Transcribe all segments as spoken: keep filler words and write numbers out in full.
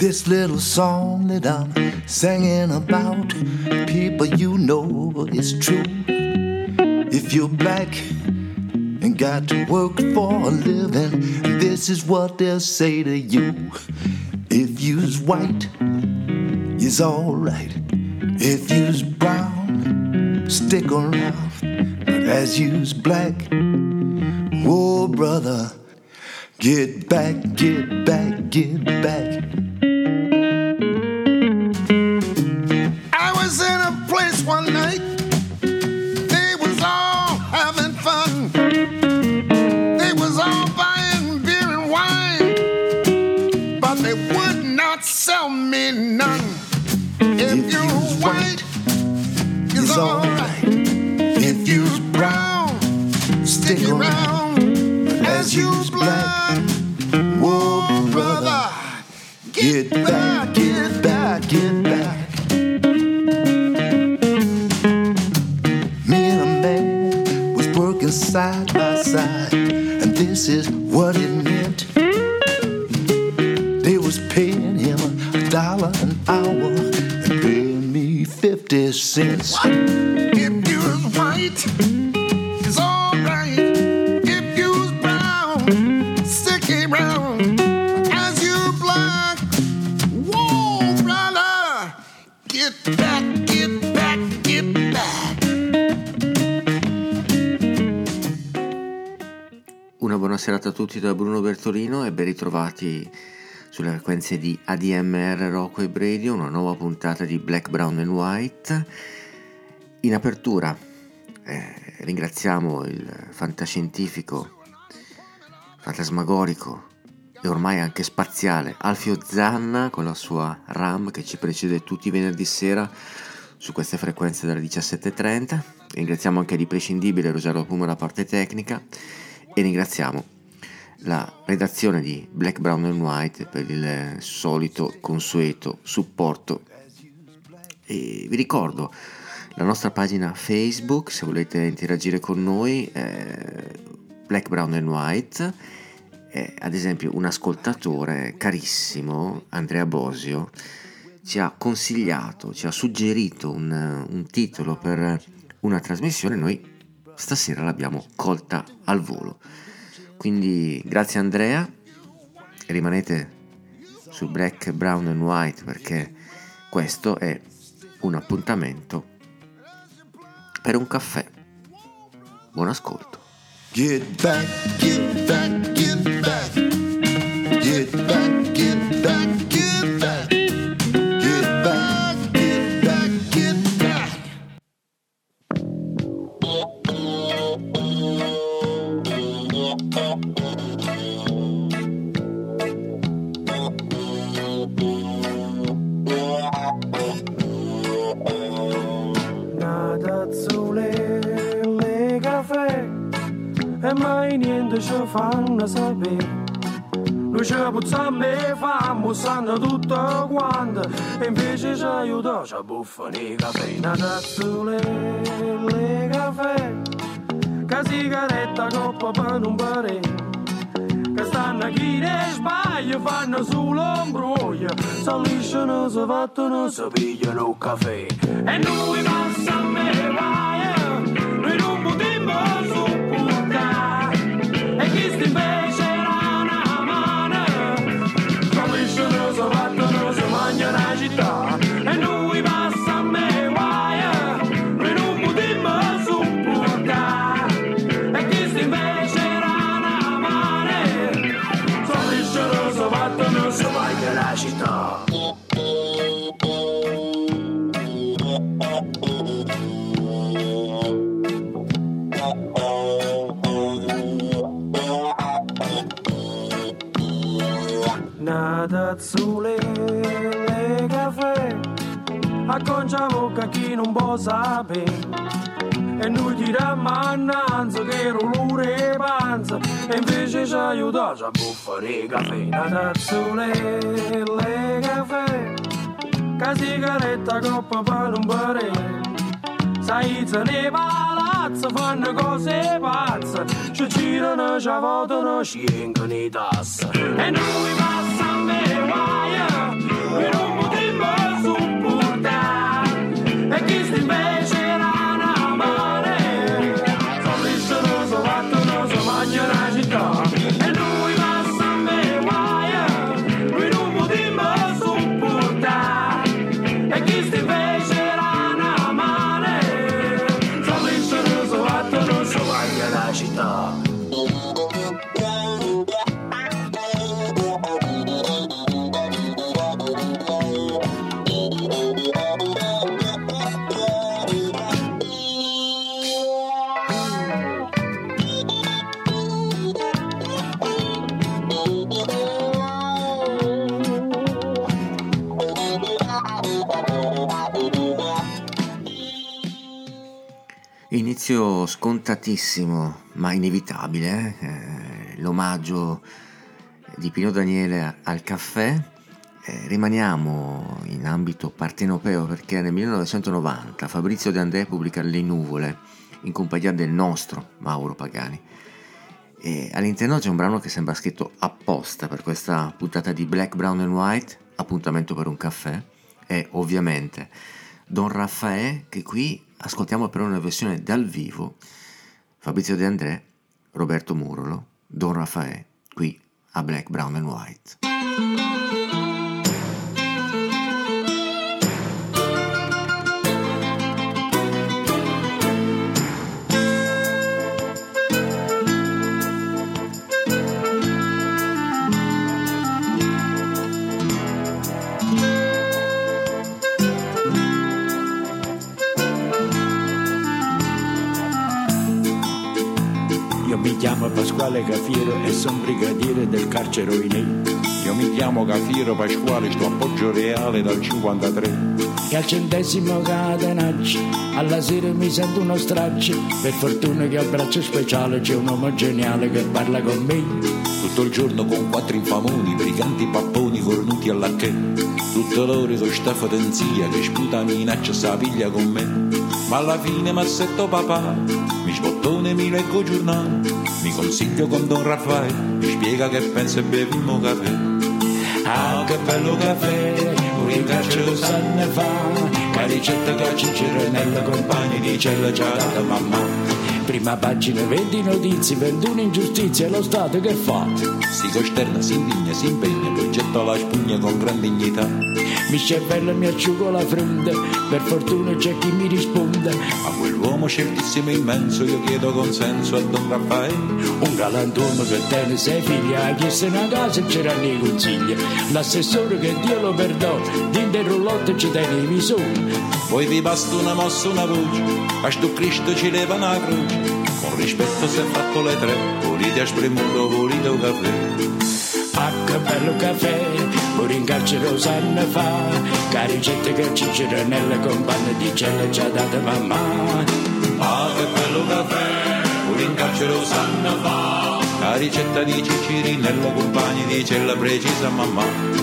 This little song that I'm singing about, people, you know it's true. If you're black and got to work for a living, this is what they'll say to you. If you's white, you's alright. If you's brown, stick around. But as you's black, whoa brother, get back, get back, get back. I was in a place one night, they was all having fun. They was all buying beer and wine, but they would not sell me none. If, if you're white, it's alright. If you's brown, stick around. As you's black, whoa brother, get back, get back, get back. Me and a man was working side by side, and this is what it meant. They was paying him a dollar an hour and paying me fifty cents. What? If you're white, it's alright. If you's brown, stick around. As you black, whoa brother, get back, get back, get back. Una buona serata a tutti da Bruno Bertolino e ben ritrovati sulle frequenze di A D M R Rock Web Radio, una nuova puntata di Black, Brown and White. In apertura eh, ringraziamo il fantascientifico, fantasmagorico e ormai anche spaziale Alfio Zanna con la sua RAM che ci precede tutti i venerdì sera su queste frequenze dalle diciassette e trenta. Ringraziamo anche di prescindibile Rosario Puma la parte tecnica e ringraziamo la redazione di Black, Brown and White per il solito consueto supporto. E vi ricordo la nostra pagina Facebook se volete interagire con noi, eh, Black, Brown and White. Eh, ad esempio un ascoltatore carissimo, Andrea Bosio, ci ha consigliato, ci ha suggerito un, un titolo per una trasmissione, noi stasera l'abbiamo colta al volo. Quindi grazie Andrea, rimanete su Black, Brown and White perché questo è un appuntamento per un caffè. Buon ascolto. Get back, get back, get back. Get back, get back, get back. Get back, get back, get back. E mai niente ci fanno sapere. Noi ci puzziamo e famo, sanno tutto quanto. E invece ci aiuta, ci buffano i caffè. Una tazzule, le caffè. Che sigaretta coppa per un pare. Che stanno chi ne sbaglia, fanno sull'ombroglio. Si lisciano, si fattono, si pigliano il caffè. E noi passiamo e vai, noi non potremmo su. E chi sta invece era una mano, capiscono, si battono, si mangiano la città. E noi passiamo e guai, noi non potremmo supportare. E chi sta invece era una mano, capiscono, si battono, si mangiano la città. Una tazzule le caffè, acconcia bocca chi non può sapere. E noi tiriamo annanzi che rolure panza. E invece ci aiuta a buffare i caffè. Una tazzule le caffè, che sigaretta coppa per un pare. Sai se ne palazzo fanno cose pazze, ci girano, ci votano, ci vengono i tasse. E noi passiamo e vai, noi non potremmo supportare, e chi sti invece era una mare, sono lisciano, sono fatto, non so mangia la città, e lui passa a me guaia, noi non potremmo supportare, e chi sti invece era una mare, sono lisciano, sono fatto, non so mangia la città. Inizio scontatissimo ma inevitabile, eh, l'omaggio di Pino Daniele al caffè. Eh, rimaniamo in ambito partenopeo perché nel millenovecentonovanta Fabrizio De André pubblica Le Nuvole in compagnia del nostro Mauro Pagani, e all'interno c'è un brano che sembra scritto apposta per questa puntata di Black, Brown and White, appuntamento per un caffè, e ovviamente Don Raffaè, che qui ascoltiamo però una versione dal vivo. Fabrizio De André, Roberto Murolo, Don Raffaè, qui a Black, Brown and White. Mi chiamo Pasquale Cafiero e sono brigadiere del carcere Oinè. Io mi chiamo Cafiero Pasquale, sto a Poggio Reale dal cinquantatré. E al centesimo catenaccio, alla sera mi sento uno straccio. Per fortuna che al braccio speciale c'è un uomo geniale che parla con me. Tutto il giorno con quattro infamoni, briganti papponi cornuti alla che. Tutto l'ore con sta fotenzia che sputa minaccia sa piglia con me. Ma alla fine m'assetto papà, mi sbottone mi leggo giornale, mi consiglio con Don Raffaele, mi spiega che pensa e beviamo caffè. Ah, che bello caffè, un rincarcio lo sanno fa, che ricetta che ci c'era nella compagna di cella già data mamma. Prima pagina, venti notizie, ventuno ingiustizie, lo Stato che fa? Si costerna, si indigna, si impegna, poi getta la spugna con gran dignità. Mi cervello e mi asciugo la fronte, per fortuna c'è chi mi risponde. A quell'uomo certissimo e immenso io chiedo consenso a Don Raffaele. Un galantuomo che tiene sei figli, ha chiesto una casa e c'erano i consigli. L'assessore che Dio lo perdona, dentro il roulotte ci tiene i visori. Poi vi basta una mossa, una voce, a sto Cristo ci leva una croce. Con rispetto si è fatto le tre, volete a spremuto, volete un caffè. Ah, che bello caffè, pure in carcere lo sanno fa, che ricette che ci c'era nelle compagne di cella già data mamma. Ah, che bello caffè, pure in carcere lo sanno fa, la ricetta di Ciciri nella compagna di cella precisa mamma.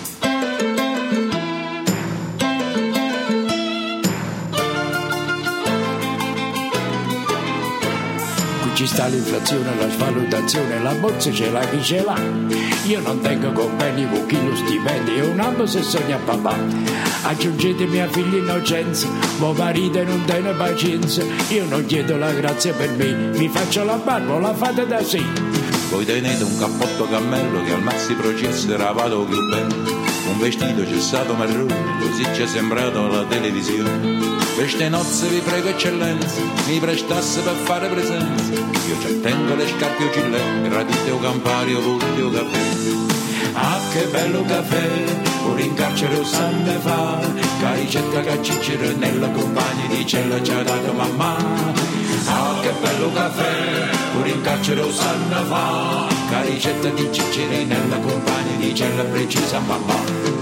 Ci sta l'inflazione, la svalutazione, la borsa ce l'ha chi ce l'ha. Io non tengo conveni con chi lo stipendio e un anno se sogna papà. Aggiungetemi a figli innocenza, mo marito non tiene pazienza. Io non chiedo la grazia per me, mi faccio la barba, la fate da sé. Voi tenete un cappotto cammello che al maxi processo era vado più bello. Un vestito cessato marrone, così ci è sembrato alla televisione. Queste nozze vi prego eccellenza, mi prestasse per fare presenza. Io ci tengo le scarpe o gilet, gradite o campari o volete o caffè. Ah, che bello caffè, pure in carcere lo sanno fa, che ricetta che ci c'era nella compagna di cella già data mamma. Ah, che bello caffè, pure in carcere lo sanno fa, che ricetta di ci c'era nella compagna di cella precisa mamma.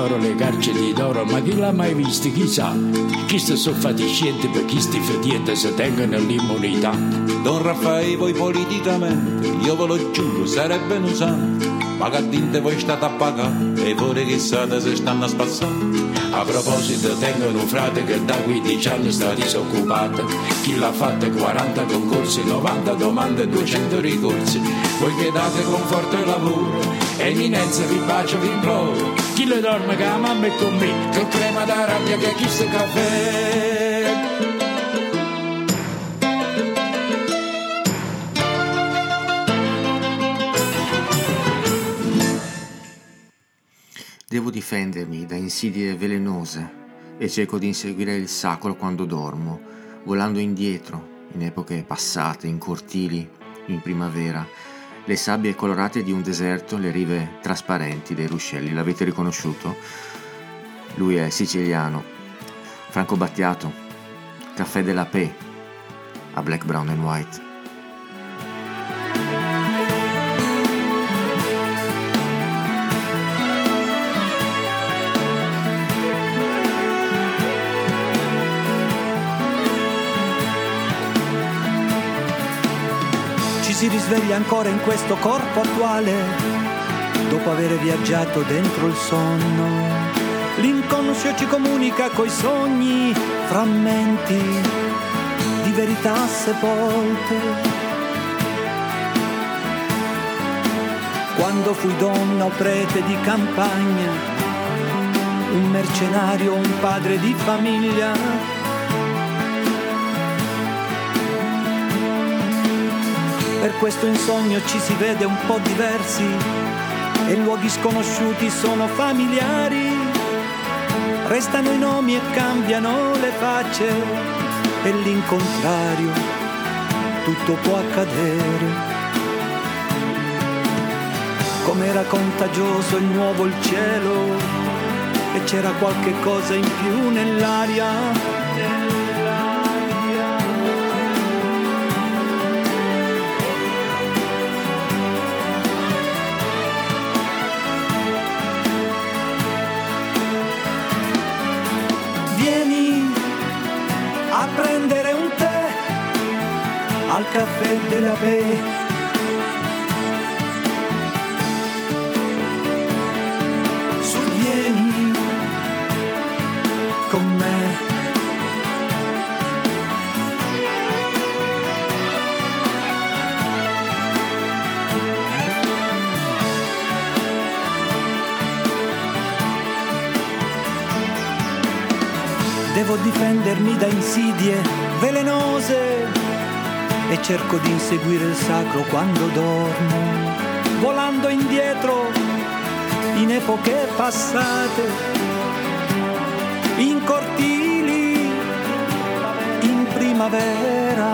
d'oro, le carceri d'oro, ma chi l'ha mai visto, chissà? Chi sta so fatiscenti per chi sti fetienti se tengono l'immunità. Don Raffaele, voi politicamente, io ve lo giuro, sarebbe un santo, ma che dinte voi state a pagare, e pure chissà se stanno a spazzare. A proposito, tengo un frate che da quindici anni sta disoccupato, chi l'ha fatta quaranta concorsi, novanta domande, duecento ricorsi. Voi che date conforto e lavoro, eminenza vi bacio, vi imploro. Chi le dorme che la mamma è con me, che crema da rabbia che chi sta caffè. Devo difendermi da insidie velenose e cerco di inseguire il sacro quando dormo, volando indietro, in epoche passate, in cortili, in primavera, le sabbie colorate di un deserto, le rive trasparenti dei ruscelli. L'avete riconosciuto? Lui è siciliano, Franco Battiato, Caffè della Pe, a Black, Brown and White. Si risveglia ancora in questo corpo attuale, dopo aver viaggiato dentro il sonno. L'inconscio ci comunica coi sogni, frammenti di verità sepolte. Quando fui donna o prete di campagna, un mercenario, un padre di famiglia, per questo in sogno ci si vede un po' diversi e luoghi sconosciuti sono familiari. Restano i nomi e cambiano le facce e l'incontrario tutto può accadere. Com'era contagioso il nuovo il cielo e c'era qualche cosa in più nell'aria. Prendere un tè al caffè della Pe. Su, vieni con me. Devo difendermi da insidie velenose e cerco di inseguire il sacro quando dormo, volando indietro in epoche passate, in cortili, in primavera,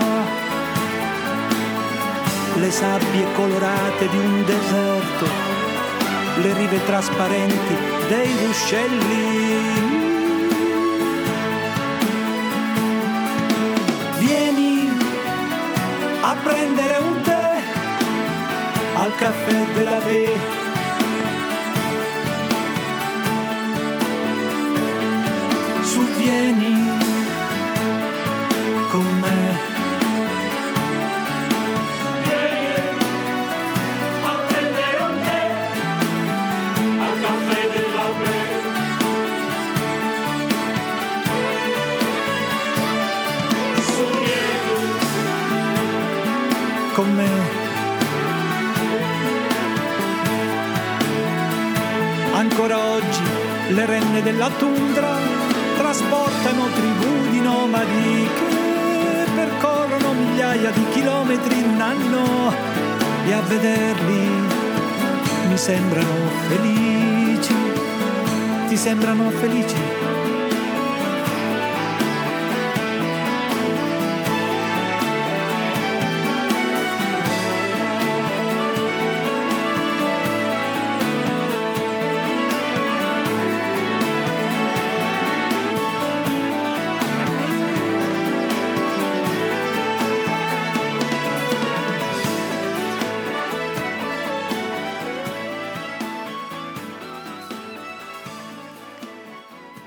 le sabbie colorate di un deserto, le rive trasparenti dei ruscelli. A prendere un tè al caffè della Pe. Su, vieni con me. Vieni a prendere un tè al caffè della Pe. Su, vieni con me. Ancora oggi le renne della tundra trasportano tribù di nomadi che percorrono migliaia di chilometri in un anno e a vederli mi sembrano felici. Ti sembrano felici?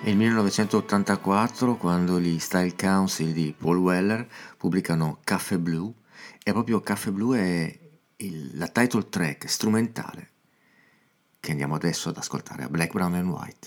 È il millenovecentottantaquattro quando gli Style Council di Paul Weller pubblicano Café Blue, e proprio Café Blue è il, la title track strumentale che andiamo adesso ad ascoltare a Black, Brown and White.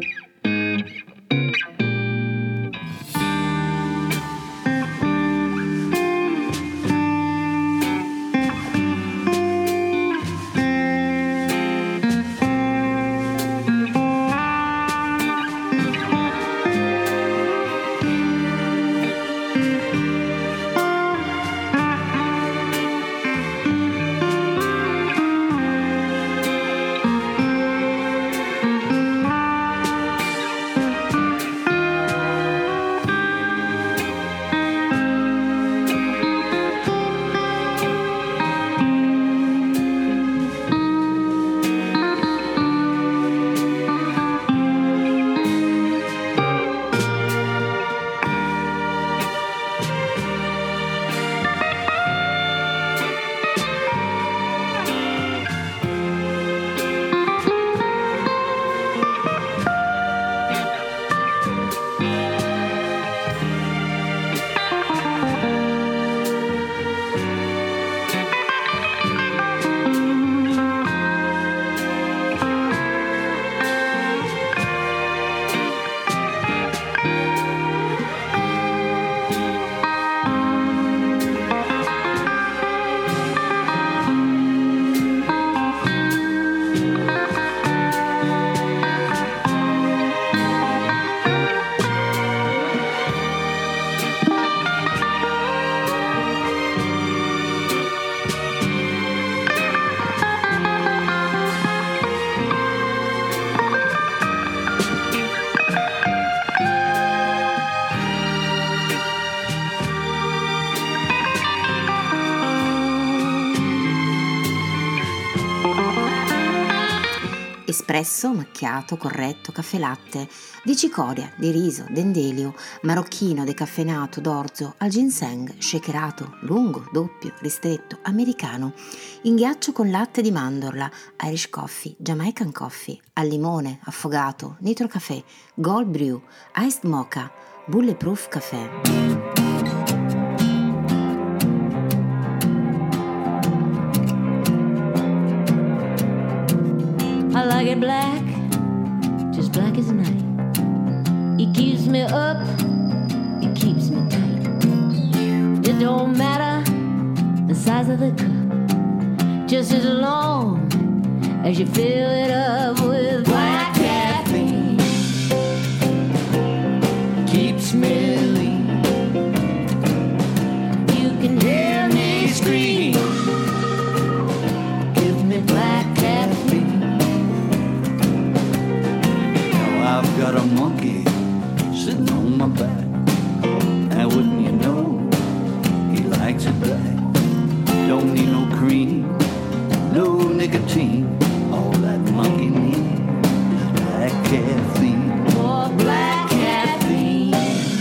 Espresso, macchiato, corretto, caffè latte, di cicoria, di riso, dendelio, marocchino, decaffeinato, d'orzo, al ginseng, shakerato, lungo, doppio, ristretto, americano, in ghiaccio con latte di mandorla, Irish coffee, Jamaican coffee, al limone, affogato, nitro caffè, gold brew, iced mocha, bulletproof caffè. I like it black, just black as night. It keeps me up, it keeps me tight. It don't matter the size of the cup, just as long as you fill it up with black caffeine. Keeps me lean. You can hear me scream. Give me black caffeine. I've got a monkey sitting on my back, and wouldn't you know, he likes it black. Don't need no cream, no nicotine, all that monkey needs is black caffeine. More black caffeine.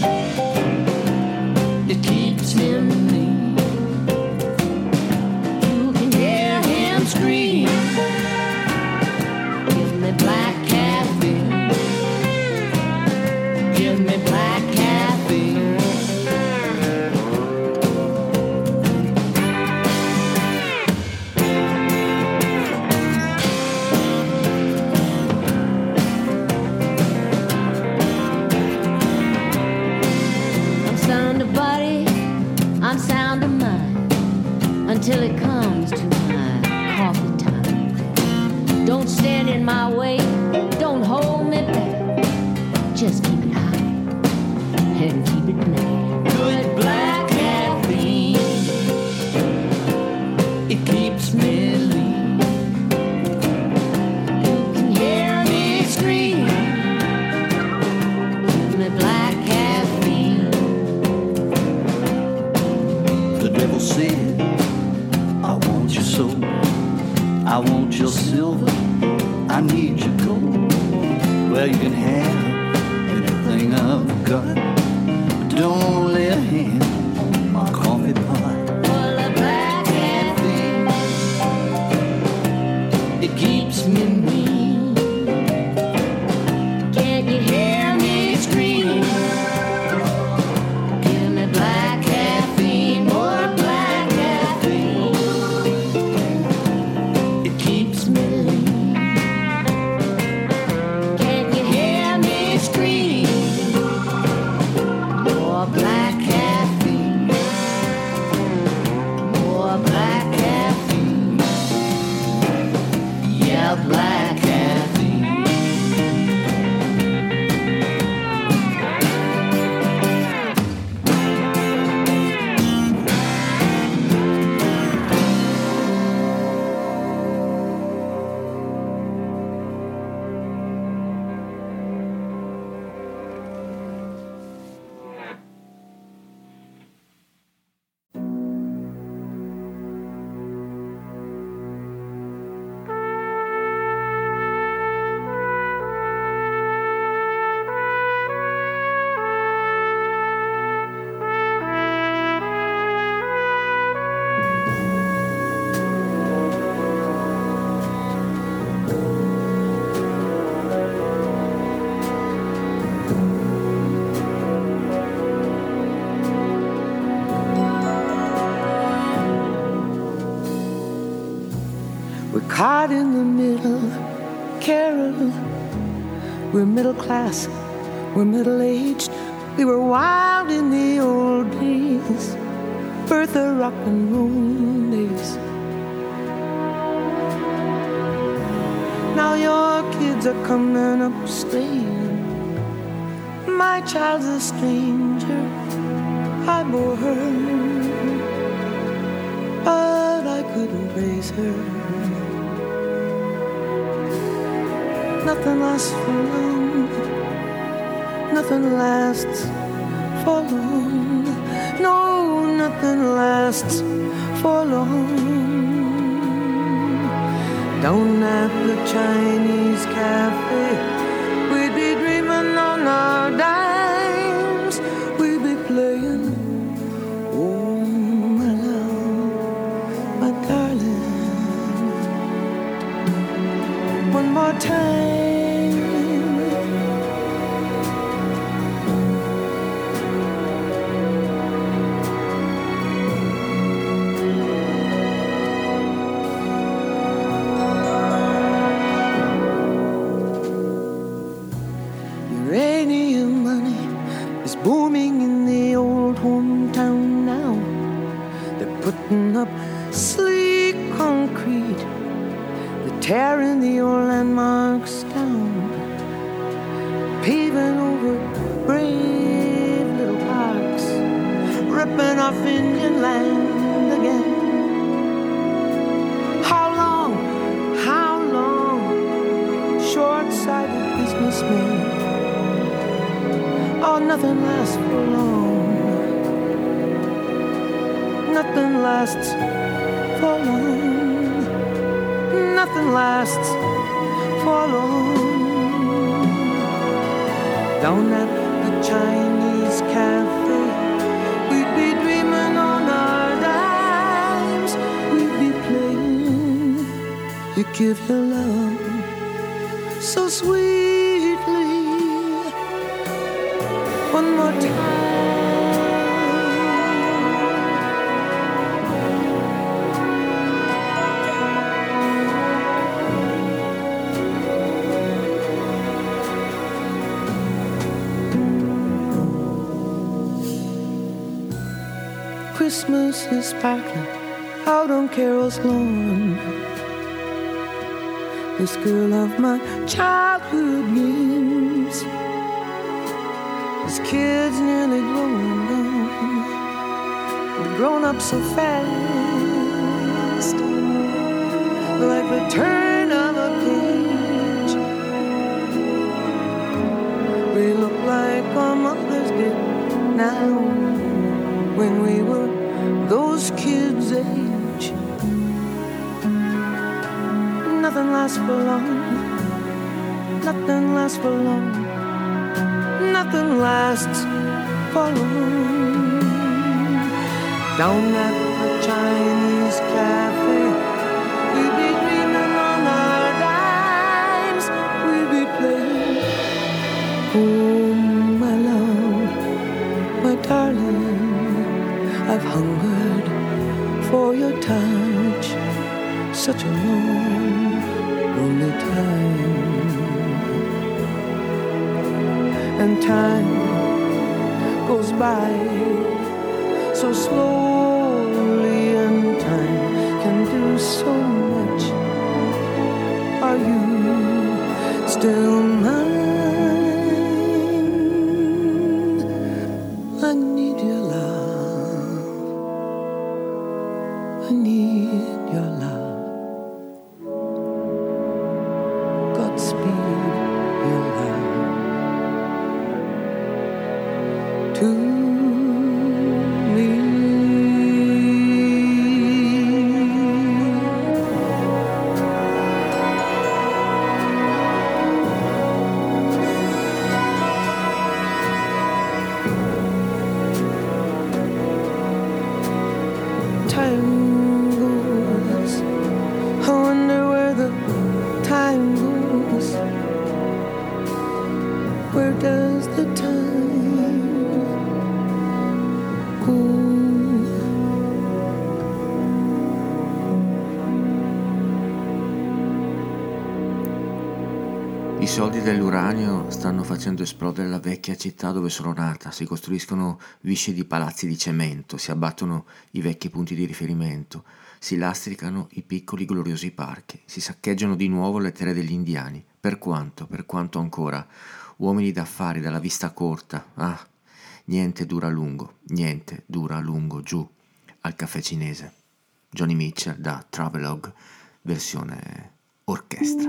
It keeps him lean. You can hear him scream. Give me black caffeine. Give me black caffeine. I'm sound of body, I'm sound of mind, until it comes to my coffee time. Don't stand in my way, don't hold me back, just keep it high and keep it black. Good black caffeine, it keeps me lean. You can hear me scream. Give me black caffeine. The devil said, I want your soul, I want your silver, I need your gold. Well, you can have anything I've got, but don't lay a hand on my coffee pot. Full of black caffeine, it keeps me mean. Can't you hear me caught in the middle. Carol, we're middle class, we're middle-aged. We were wild in the old days, Bertha rock and roll days. Now your kids are coming up staying. My child's a stranger, I bore her, but I couldn't raise her. Nothing lasts for long, nothing lasts for long. No, nothing lasts for long. Down at the Chinese cafe, we'd be dreaming on our dimes. We'd be playing, oh my love, my darling. One more time. Booming in the old hometown now. They're putting up sleek concrete. They're tearing the old landmarks down, paving over brave little parks, ripping off Indian land again. How long, how long, short-sighted businessmen. Oh, nothing lasts for long. Nothing lasts for long. Nothing lasts for long. Down at the Chinese cafe, we'd be dreaming on our dimes. We'd be playing, you give your love so sweetly. One more time. Christmas is sparkling out on Carol's lawn. This girl of my childhood dreams. These kids nearly grown down, they've grown up so fast, like the turn of a page. We look like our mothers did now, when we were those kids' age. Nothing lasts for long, nothing lasts for long. Nothing lasts for long. Down at the Chinese cafe, we'd be dreaming on our dimes. We'd be playing, oh my love, my darling, I've hungered for your touch such a long, lonely time. And time goes by so slowly, and time can do so much. Are you still mine? I need your love, I need your love. Godspeed your love to me. Time goes, I wonder where the time goes. Where does the time go? soldi dell'uranio stanno facendo esplodere la vecchia città dove sono nata, si costruiscono viscidi palazzi di cemento, si abbattono i vecchi punti di riferimento, si lastricano i piccoli gloriosi parchi, si saccheggiano di nuovo le terre degli indiani. Per quanto, per quanto ancora, uomini d'affari dalla vista corta, ah, niente dura a lungo, niente dura a lungo giù al caffè cinese. Johnny Mitchell da Travelogue, versione orchestra.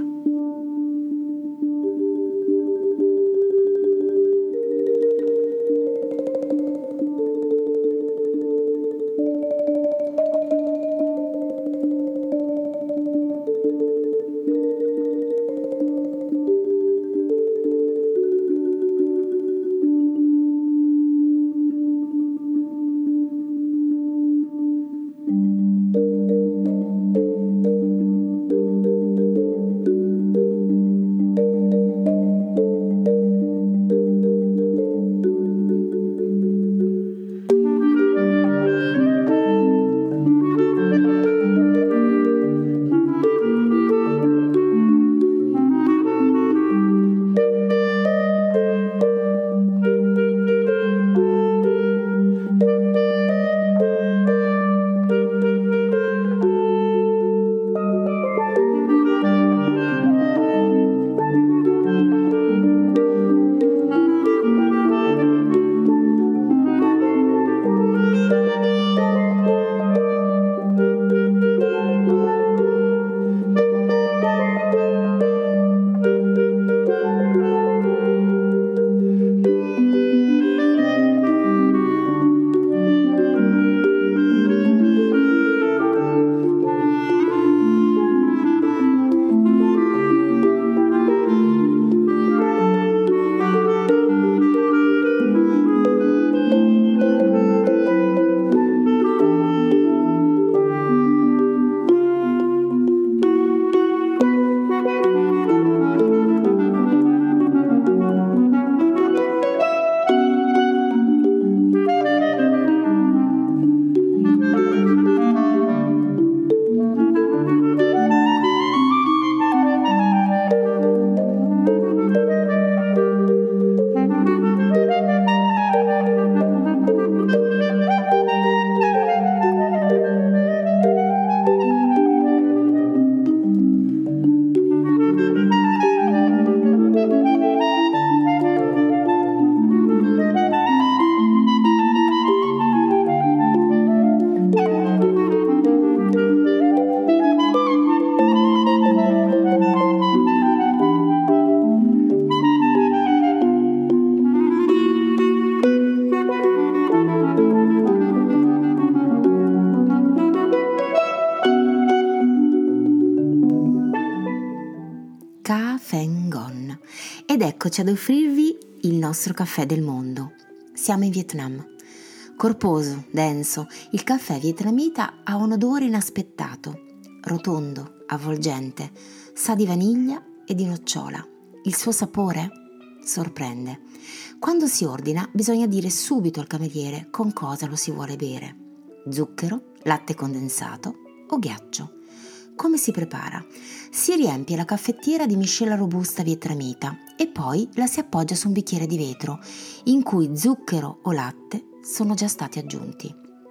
Ed eccoci ad offrirvi il nostro caffè del mondo. Siamo in Vietnam. Corposo, denso, il caffè vietnamita ha un odore inaspettato, rotondo, avvolgente, sa di vaniglia e di nocciola. Il suo sapore sorprende. Quando si ordina bisogna dire subito al cameriere con cosa lo si vuole bere: zucchero, latte condensato o ghiaccio. Come si prepara? Si riempie la caffettiera di miscela robusta vietnamita e poi la si appoggia su un bicchiere di vetro in cui zucchero o latte sono già stati aggiunti.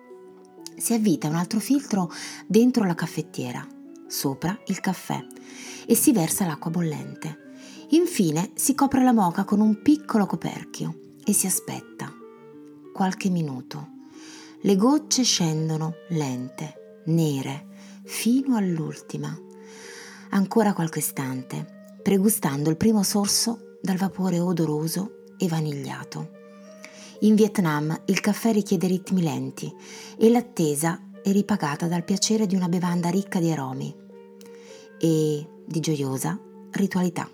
Si avvita un altro filtro dentro la caffettiera, sopra il caffè, e si versa l'acqua bollente. Infine si copre la moka con un piccolo coperchio e si aspetta. Qualche minuto. Le gocce scendono lente, nere, fino all'ultima. Ancora qualche istante, pregustando il primo sorso dal vapore odoroso e vanigliato. In Vietnam il caffè richiede ritmi lenti e l'attesa è ripagata dal piacere di una bevanda ricca di aromi e di gioiosa ritualità.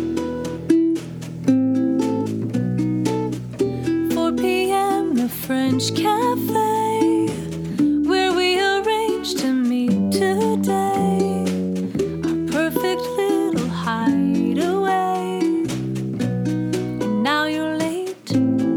Friend French cafe where we arranged to meet today. Our perfect little hideaway. And now you're late.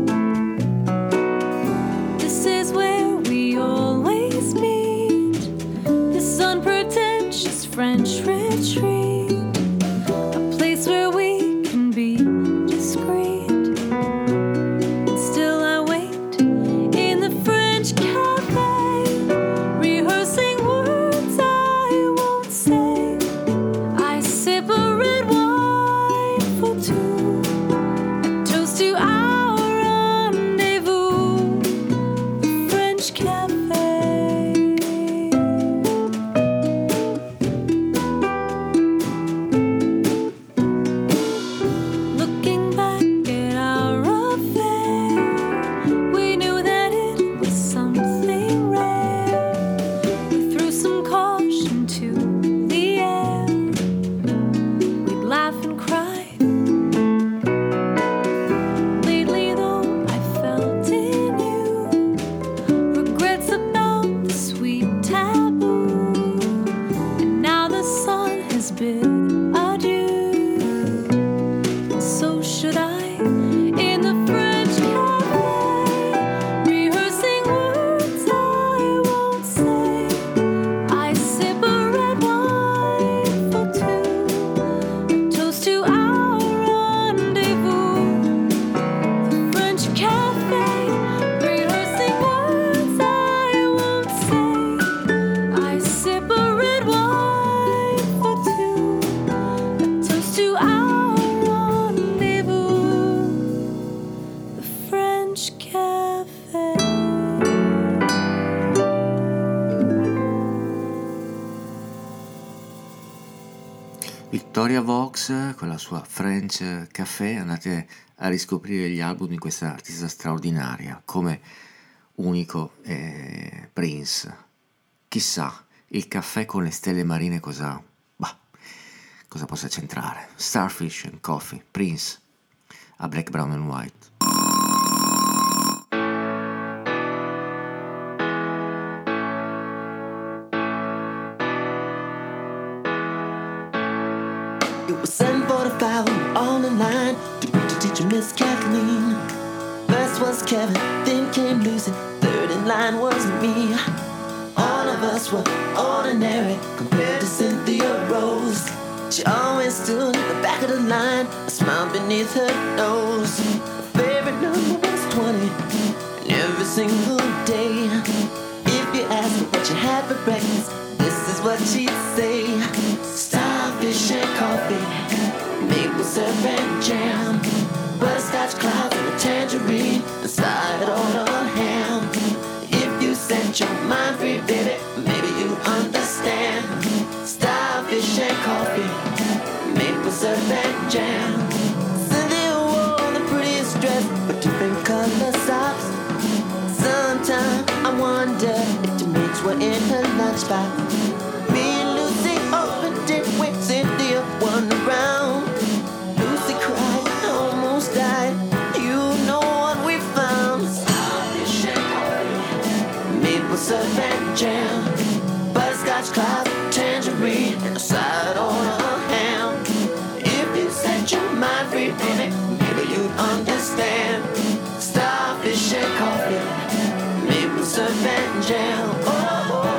This is where we always meet. This unpretentious French retreat. A place where we can be discreet. Still I wait in the French cafe, rehearsing words I won't say. I sip a red wine for two, a toast to our rendezvous, the French cafe. Looking back at our affair, we knew that it was something rare. We threw some caution to the air. We'd laugh and cry. Lately, though, I felt in you regrets about the sweet taboo. And now the sun has bid adieu. So should I in the French cafe, rehearsing words I won't say. I sip a red wine for two, a toast to our rendezvous, the French cafe, rehearsing words I won't say. I sip a red wine for two, a toast to our rendezvous, the French cafe. Victoria Vox con la sua French Café. Andate a riscoprire gli album di questa artista straordinaria, come unico eh, Prince. Chissà, il caffè con le stelle marine cosa, bah, cosa possa c'entrare. Starfish and Coffee, Prince, a Black, Brown and White. It was seven forty-five, we were all in line to meet the teacher, Miss Kathleen. First was Kevin, then came Lucy, third in line was me. All of us were ordinary compared to Cynthia Rose. She always stood at the back of the line, a smile beneath her nose. Her favorite number was twenty, and every single day. If you ask her what you had for breakfast, this is what she'd say. Starfish and coffee, maple syrup and jam, butterscotch clouds and a tangerine, and side on a ham. If you set your mind free, baby, maybe you understand. Starfish and coffee, maple syrup and jam. Cynthia wore the prettiest dress with different color socks. Sometimes I wonder if the mates were in her lunchbox. Me and Lucy opened it when Cynthia won around. Lucy cried, almost died. You know what we found. Starfish and coffee, maple syrup and jam, butterscotch clouds, tangerine, and a side on a ham. If you set your mind free, baby, maybe you'd understand. Starfish and coffee, maple syrup and jam. Oh, oh.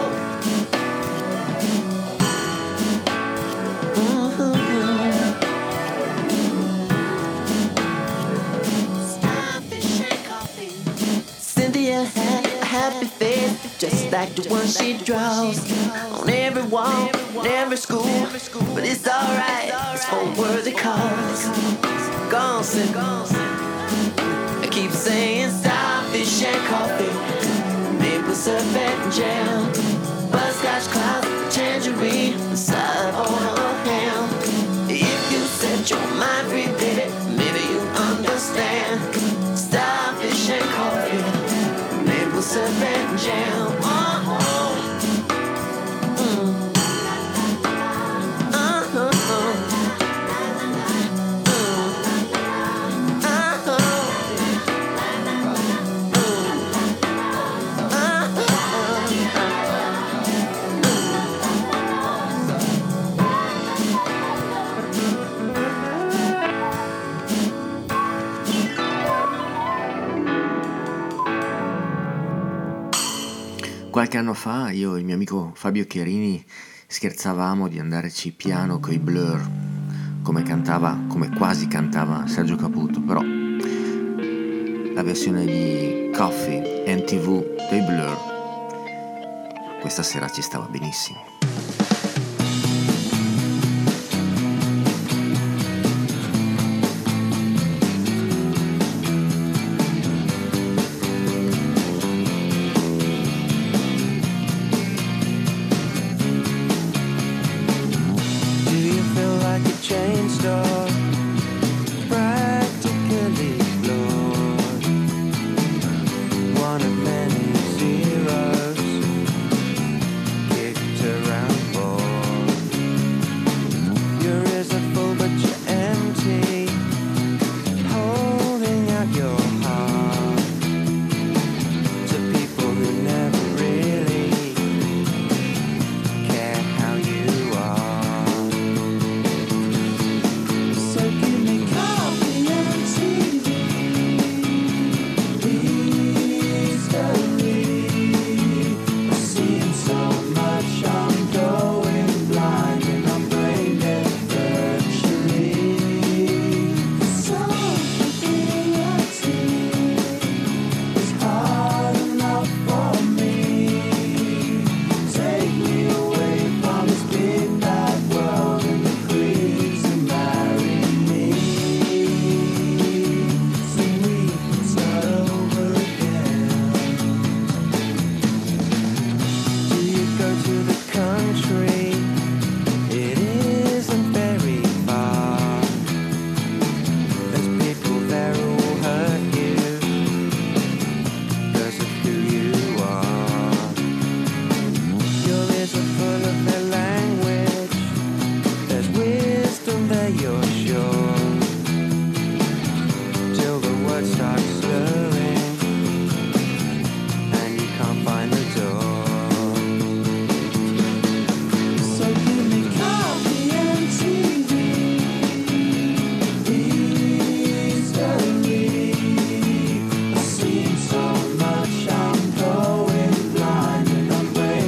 Starfish and coffee. Cynthia had a happy face, just like the one she draws on every wall, in every school. But it's alright, it's for worthy cause. Gone, sit, I keep saying starfish and coffee, maple syrup and jam, butterscotch clouds, tangerine, and side on a ham. If you set your mind free, baby, maybe you understand. Starfish and coffee, maple syrup and jam. Oh, oh. Mm. Uh-huh. Mm. Uh-huh. anno fa io e il mio amico Fabio Chiarini scherzavamo di andarci piano coi Blur, come cantava, come quasi cantava Sergio Caputo, però la versione di Coffee M T V dei Blur questa sera ci stava benissimo.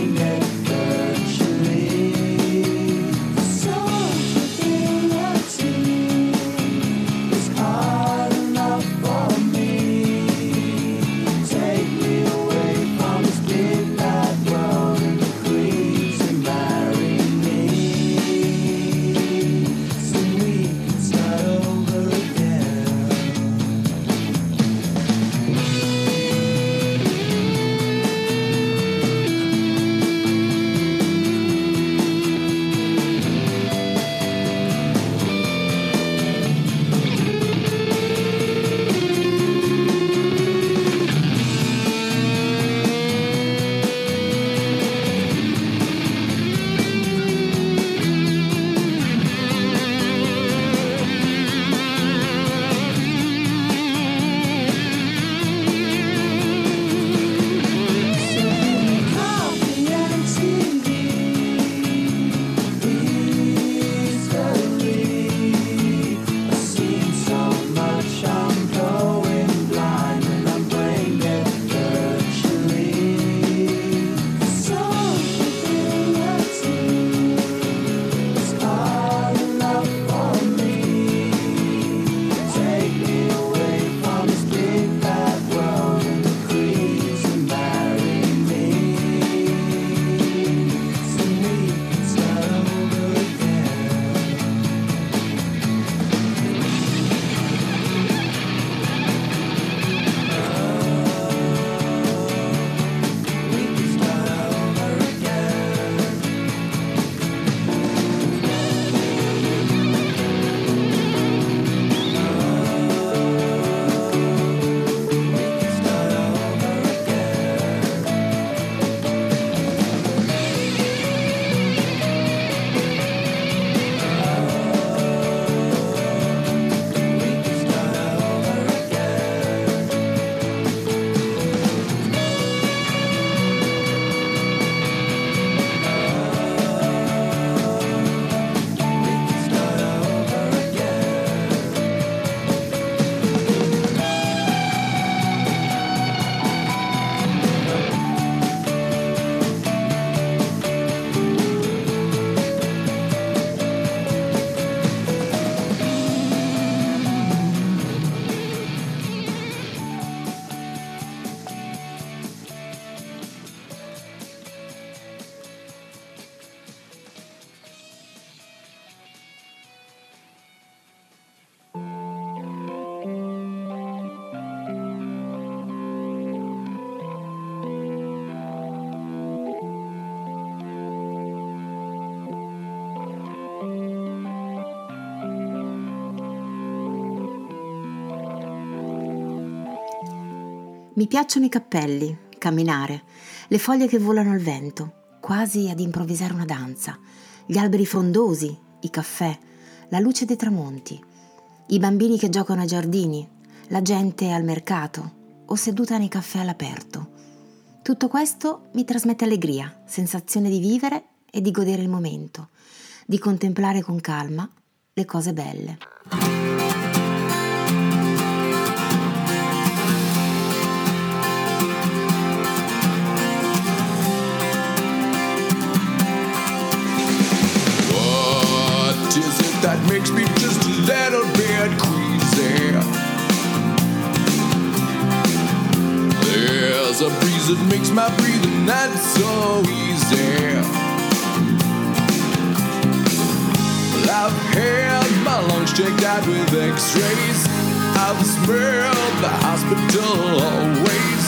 See Mi piacciono i cappelli, camminare, le foglie che volano al vento, quasi ad improvvisare una danza, gli alberi frondosi, i caffè, la luce dei tramonti, i bambini che giocano ai giardini, la gente al mercato o seduta nei caffè all'aperto. Tutto questo mi trasmette allegria, sensazione di vivere e di godere il momento, di contemplare con calma le cose belle. What is it that makes me just a little bit queasy? There's a breeze that makes my breathing not so easy. Well, I've had my lungs checked out with x-rays. I've smelled the hospital always.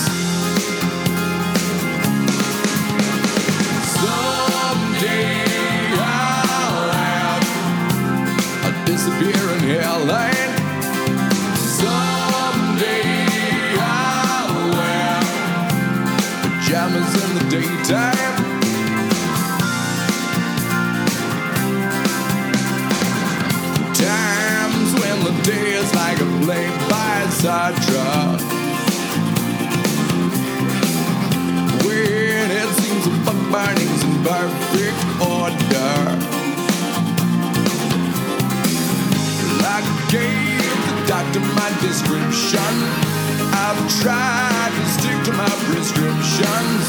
Someday I'll have a disappearing hairline. Someday I'll wear pajamas in the daytime. Times when the day is like a play by Sartre, when it seems the fuck burning's in perfect order. I gave the doctor my description. I've tried to stick to my prescriptions.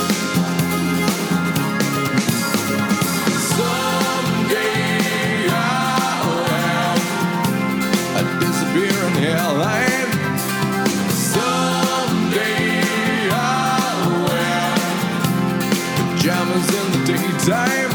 Someday I'll have a disappearing hairline. Someday I'll wear pajamas in the daytime.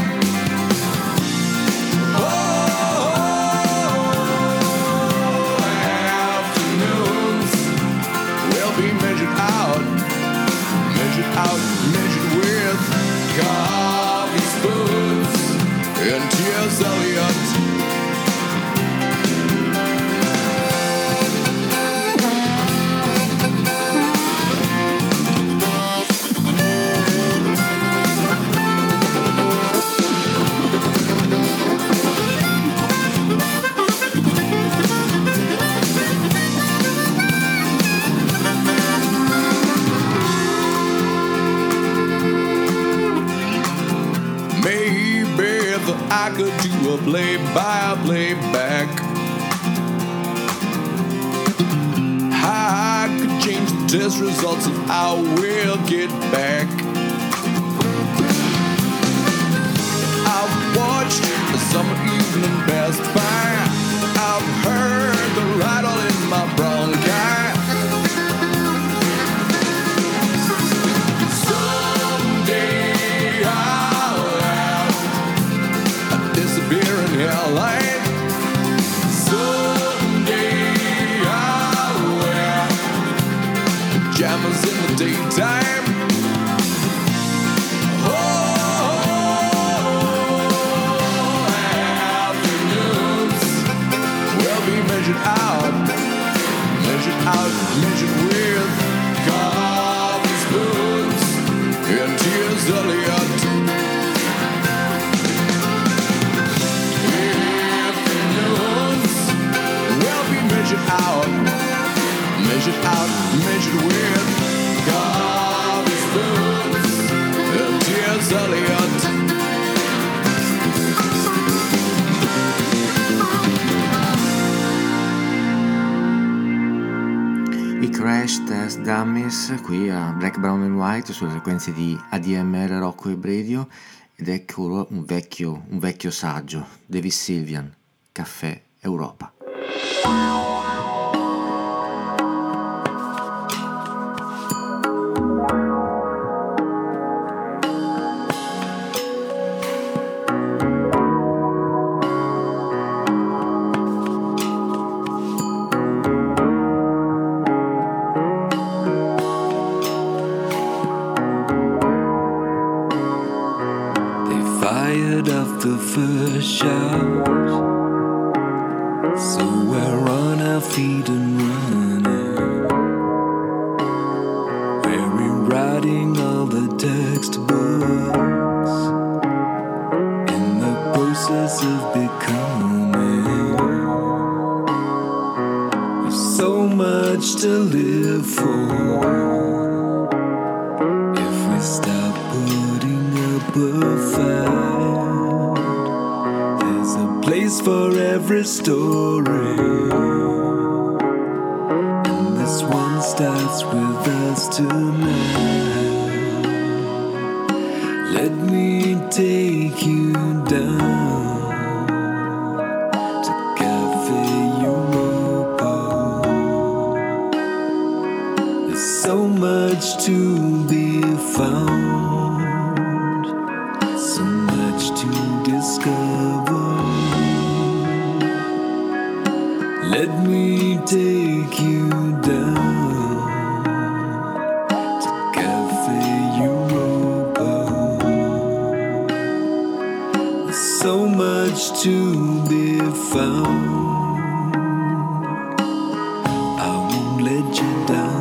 Out, measured with coffee spoons and tears, Elliot. I could do a play-by-play back. I could change the test results and I will get back. I've watched the summer evening pass by. I've heard the rattle in my bronchi. Someday I'll have disappearing hairline. Someday I'll wear pajamas in the daytime. Oh, afternoons will be measured out, measured out, measured with coffee spoons and tears, Elliot. Measured out, measured out, measured with coffee spoons and tears, Elliot. I Crash Test Dummies qui a Black, Brown and White sulle frequenze di A D M R Rocco Web Radio, ed ecco un vecchio, un vecchio saggio, Davis Sylvian, Caffè Europa. The first shot, so we're on our feet and running. process of becoming. There's so much to live for. If we stop putting up a fight, there's a place for every story. And this one starts with us tonight. Let me take you down to Cafe Europa. There's so much to be found, so much to discover. Let me take you down to Cafe Europa. So much to be found. I won't let you down.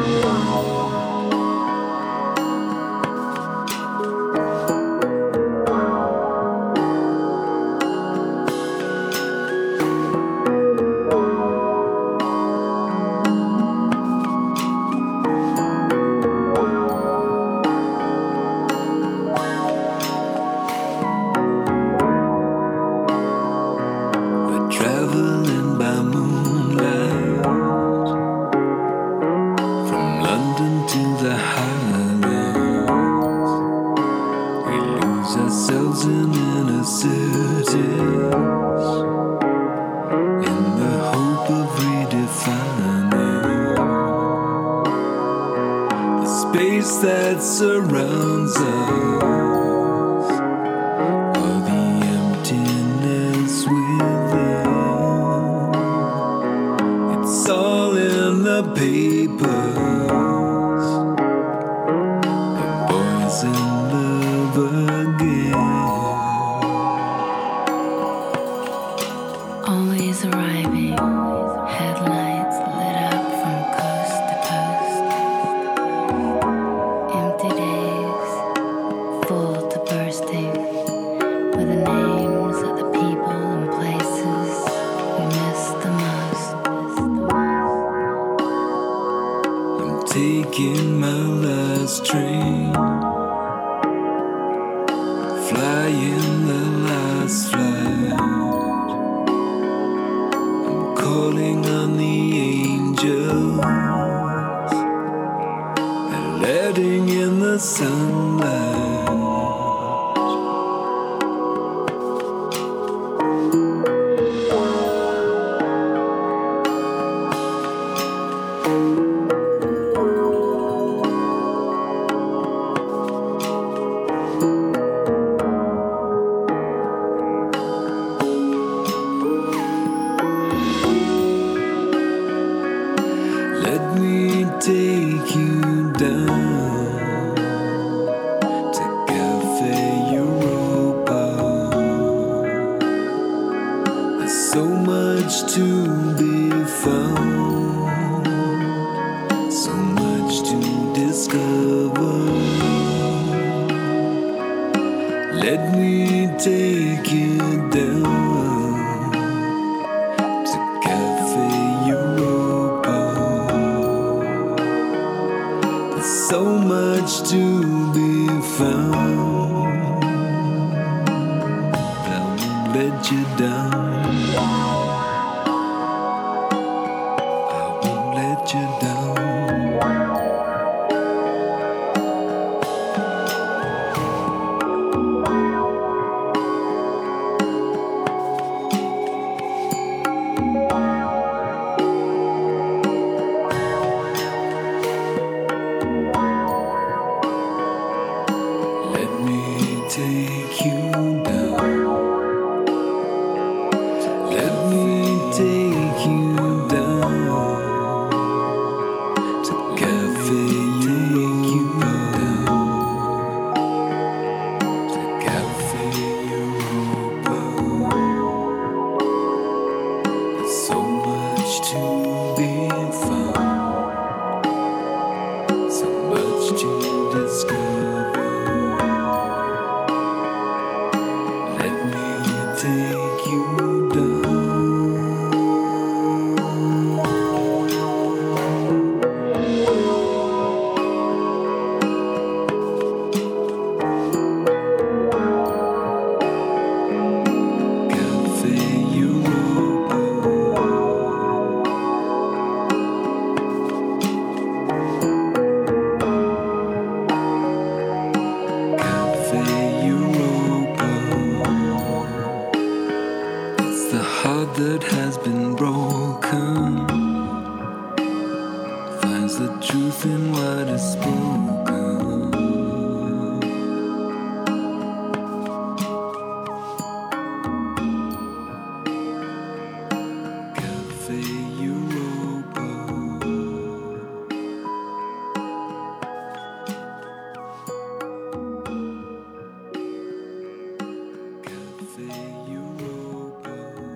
Traveling by moonlight from London to the Highlands. We lose ourselves in inner cities in the hope of redefining the space that surrounds us. Papers, the boys in love again, always arriving, headlights lit up from coast to coast, empty days, full to bursting, with the names of the people and places we miss the most. Taking my last train, flying the last flight. I'm calling on the angels, letting in the sunlight. Take you down to Cafe Europa. There's so much to be found, so much to discover. Let me take you down to Cafe Europa. So much to be found, but I won't let you down. I won't let you down. Take you down. Let me take you down to Cafe Europa. To Cafe Europa. There's so much to be found, so much to discover. Let me take you down. That has been broken finds the truth in what is spoken. Cafe Europa. Cafe Europa.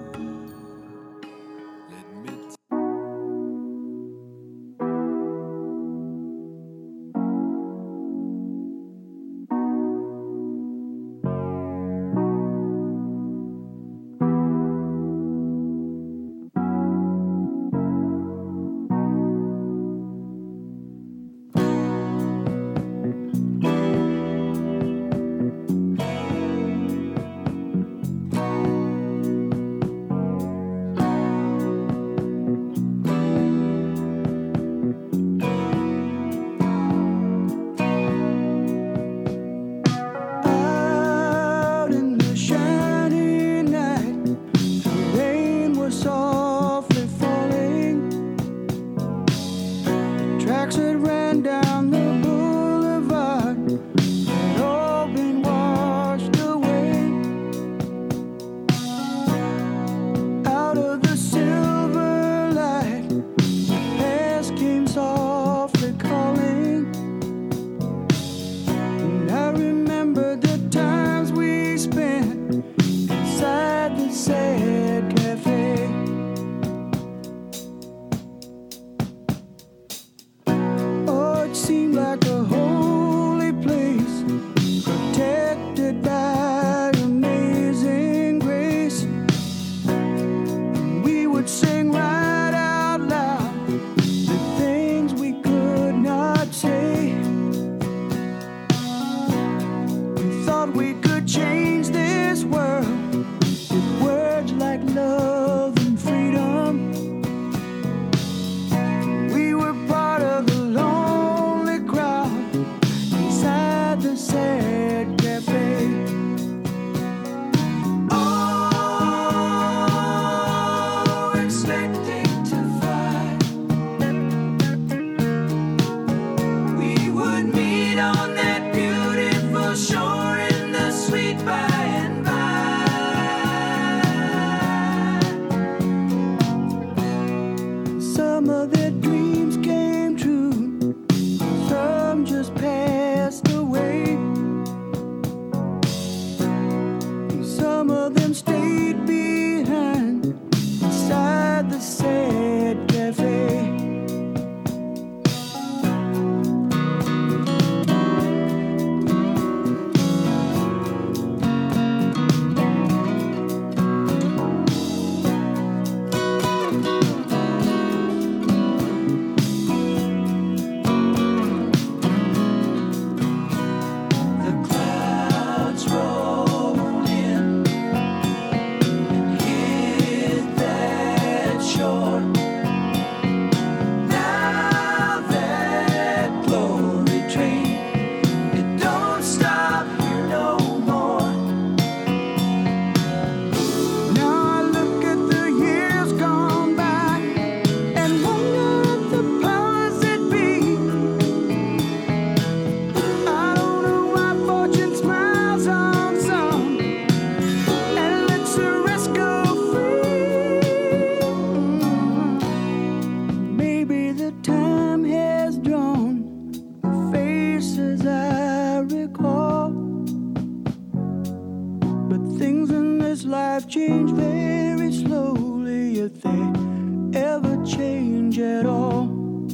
life change very slowly, if they ever change at all.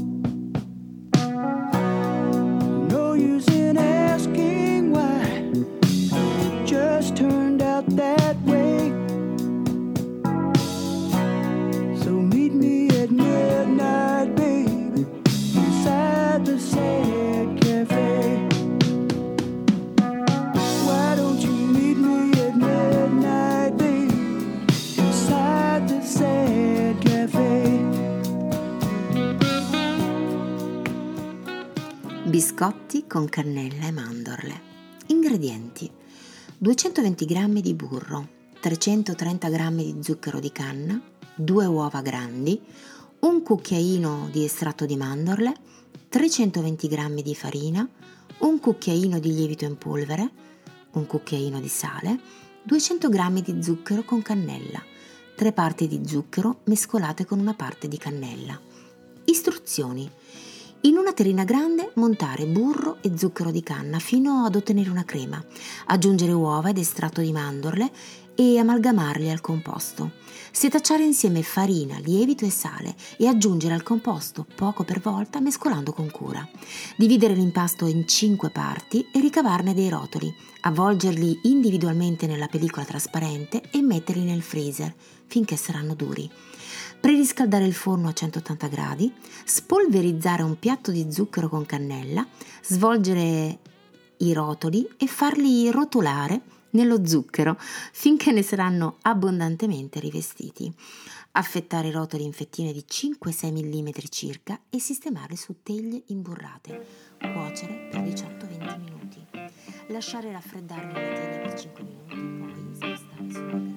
No use in asking why it just turned out that way. biscotti con cannella e mandorle. Ingredienti: duecentoventi grammi di burro, trecentotrenta grammi di zucchero di canna, due uova grandi, un cucchiaino di estratto di mandorle, trecentoventi grammi di farina, un cucchiaino di lievito in polvere, un cucchiaino di sale, duecento grammi di zucchero con cannella, tre parti di zucchero mescolate con una parte di cannella. Istruzioni: in una terrina grande montare burro e zucchero di canna fino ad ottenere una crema, aggiungere uova ed estratto di mandorle e amalgamarli al composto. Setacciare insieme farina, lievito e sale e aggiungere al composto poco per volta mescolando con cura. Dividere l'impasto in cinque parti e ricavarne dei rotoli, avvolgerli individualmente nella pellicola trasparente e metterli nel freezer finché saranno duri. Preriscaldare il forno a centottanta gradi, spolverizzare un piatto di zucchero con cannella, svolgere i rotoli e farli rotolare nello zucchero finché ne saranno abbondantemente rivestiti. Affettare i rotoli in fettine di cinque sei millimetri circa e sistemarli su teglie imburrate. Cuocere per diciotto venti minuti. Lasciare raffreddare nella teglia per cinque minuti, poi spostare sulla grande.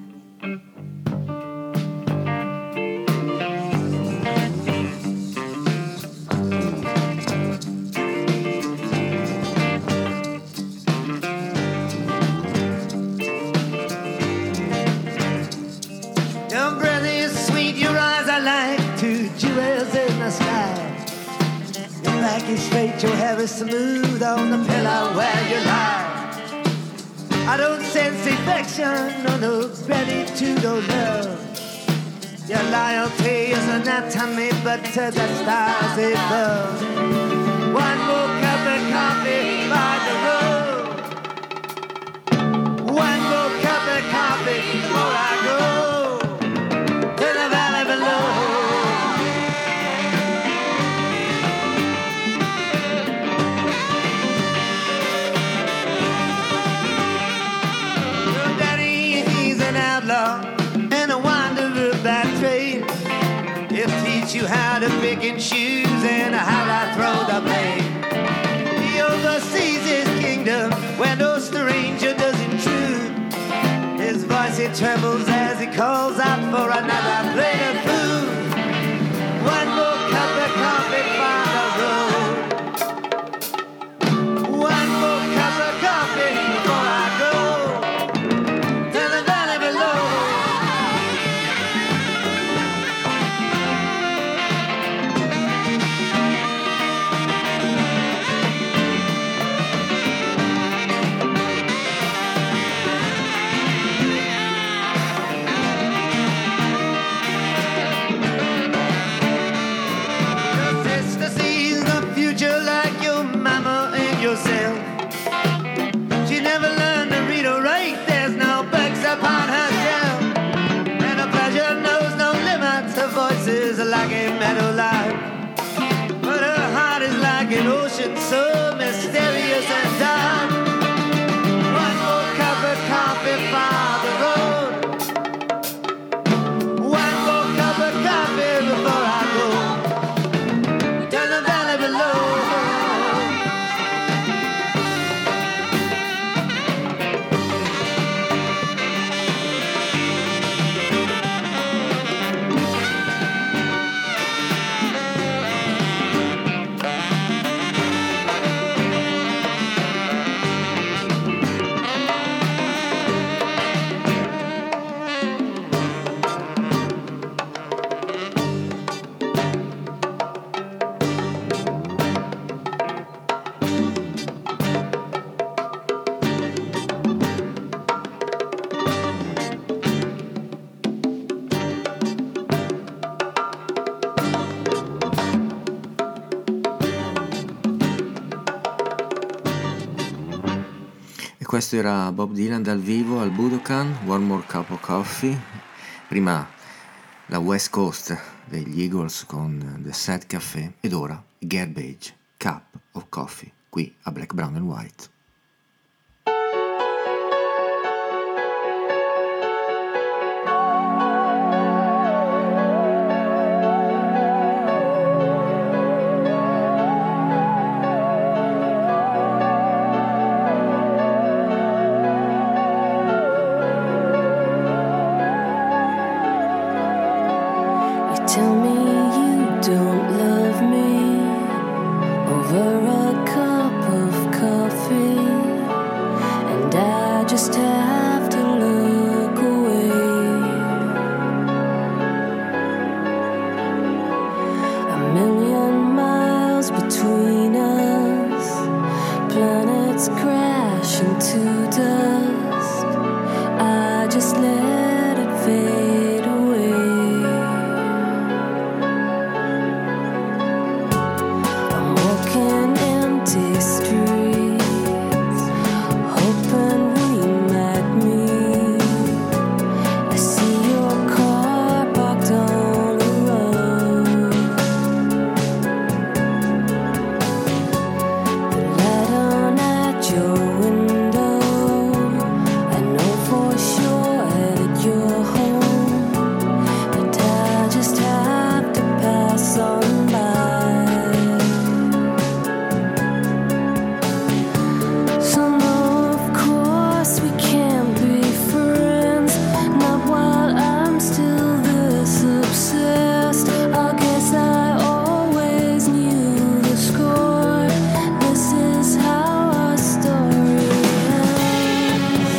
Back is straight, your hair is smooth on the pillow where you lie. I don't sense affection, no, no gratitude or love. Your loyalty is anatomy, but to the stars above. One more cup of coffee by the road. One more cup of coffee before I go to the valley below. And a wanderer by trade. He'll teach you how to pick and choose and how to throw the blame. He oversees his kingdom where no stranger does intrude. His voice it trembles as he calls out for another plate of food. One more cup of coffee by the road. One more cup of coffee before I go. She never learned to read or write. There's no books upon her shelf, and her pleasure knows no limits. Her voice is like a meadow lark, but her heart is like an ocean so mysterious and dark. One more cup of coffee for the road. One more cup of coffee before I go to the valley below. Questo era Bob Dylan dal vivo al Budokan, One More Cup of Coffee. Prima la West Coast degli Eagles con The Sad Café ed ora Garbage Cup of Coffee qui a Black, Brown and White. just let it fade away. I'm walking empty streets, hoping we met me. I see your car parked on the road. The light on at your window, I know for sure that you're home, but I just have to pass on by. So no, of course we can't be friends, not while I'm still this obsessed. I guess I always knew the score. This is how our story ends.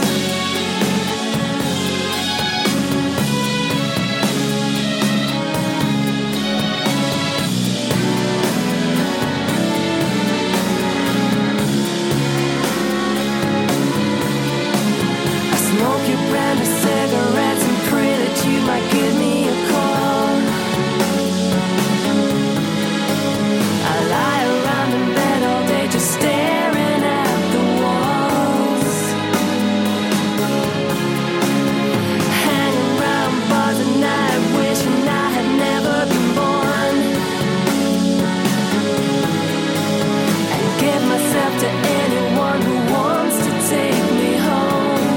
I smoke your brand of cigarettes and pray that you might give me a call. I lie around in bed all day just staring at the walls, hanging around bars at night, wishing I had never been born, and give myself to anyone who wants to take me home.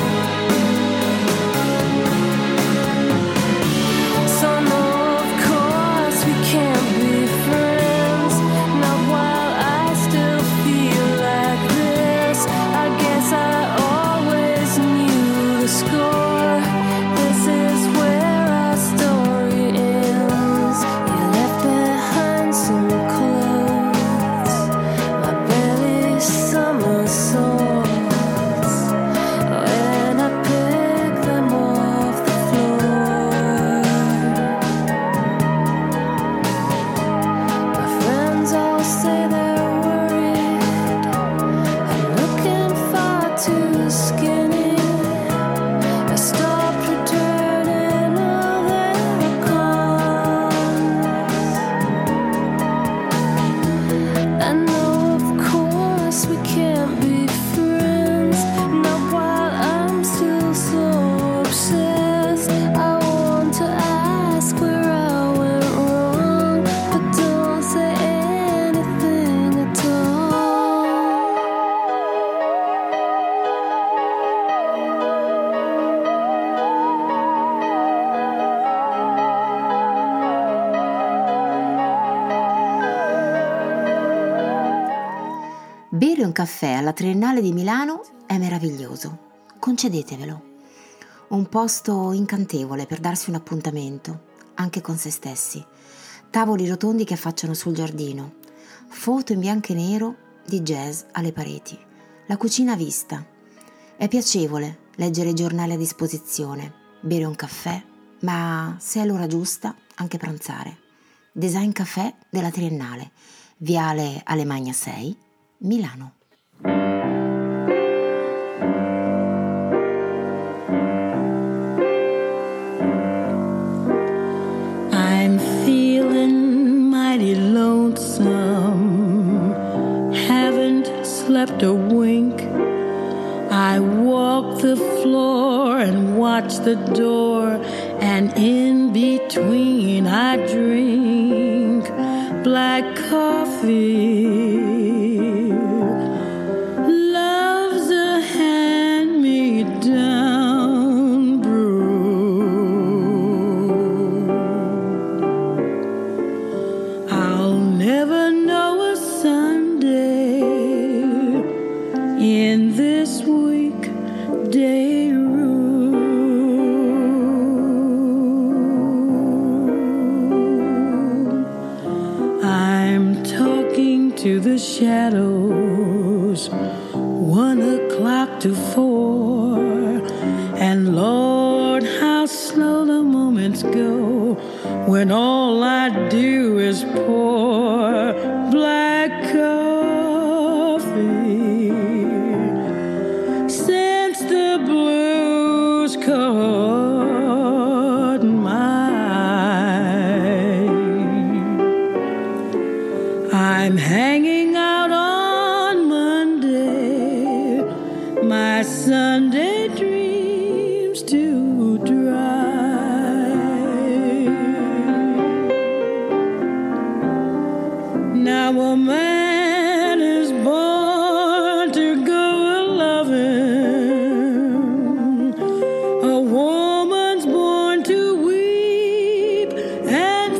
So no, of course we can't be friends, not while I still feel like this. I guess I always knew the score. This is where our story ends. You left behind some clothes, my belly summer sores, when I pick them off the floor. My friends all say they're worried I'm looking far too skinny. I stopped returning all their calls. I know, of course, we can't be friends, not while I'm still so obsessed. I want to ask where I went wrong, but don't say anything at all. Bere un caffè alla Triennale di Milano è meraviglioso, concedetevelo. Un posto incantevole per darsi un appuntamento, anche con se stessi. Tavoli rotondi che affacciano sul giardino, foto in bianco e nero di jazz alle pareti, la cucina a vista. È piacevole leggere i giornali a disposizione, bere un caffè, ma se è l'ora giusta anche pranzare. Design Café della Triennale, Viale Alemagna sei, Milano. I'm feeling mighty lonesome, haven't slept a wink. I walk the floor and watch the door, and in between I drink black coffee. Love's a hand-me-down brew. I'll never know a Sunday in this weekday room. I'm talking to the shadows, one o'clock to four, and Lord, how slow the moments go when all I do is pour black coffee. Since the blues has caught my eye. I'm hanging out on Monday, my Sunday dreams to dry. Now a man is born to go a-loving, a woman's born to weep and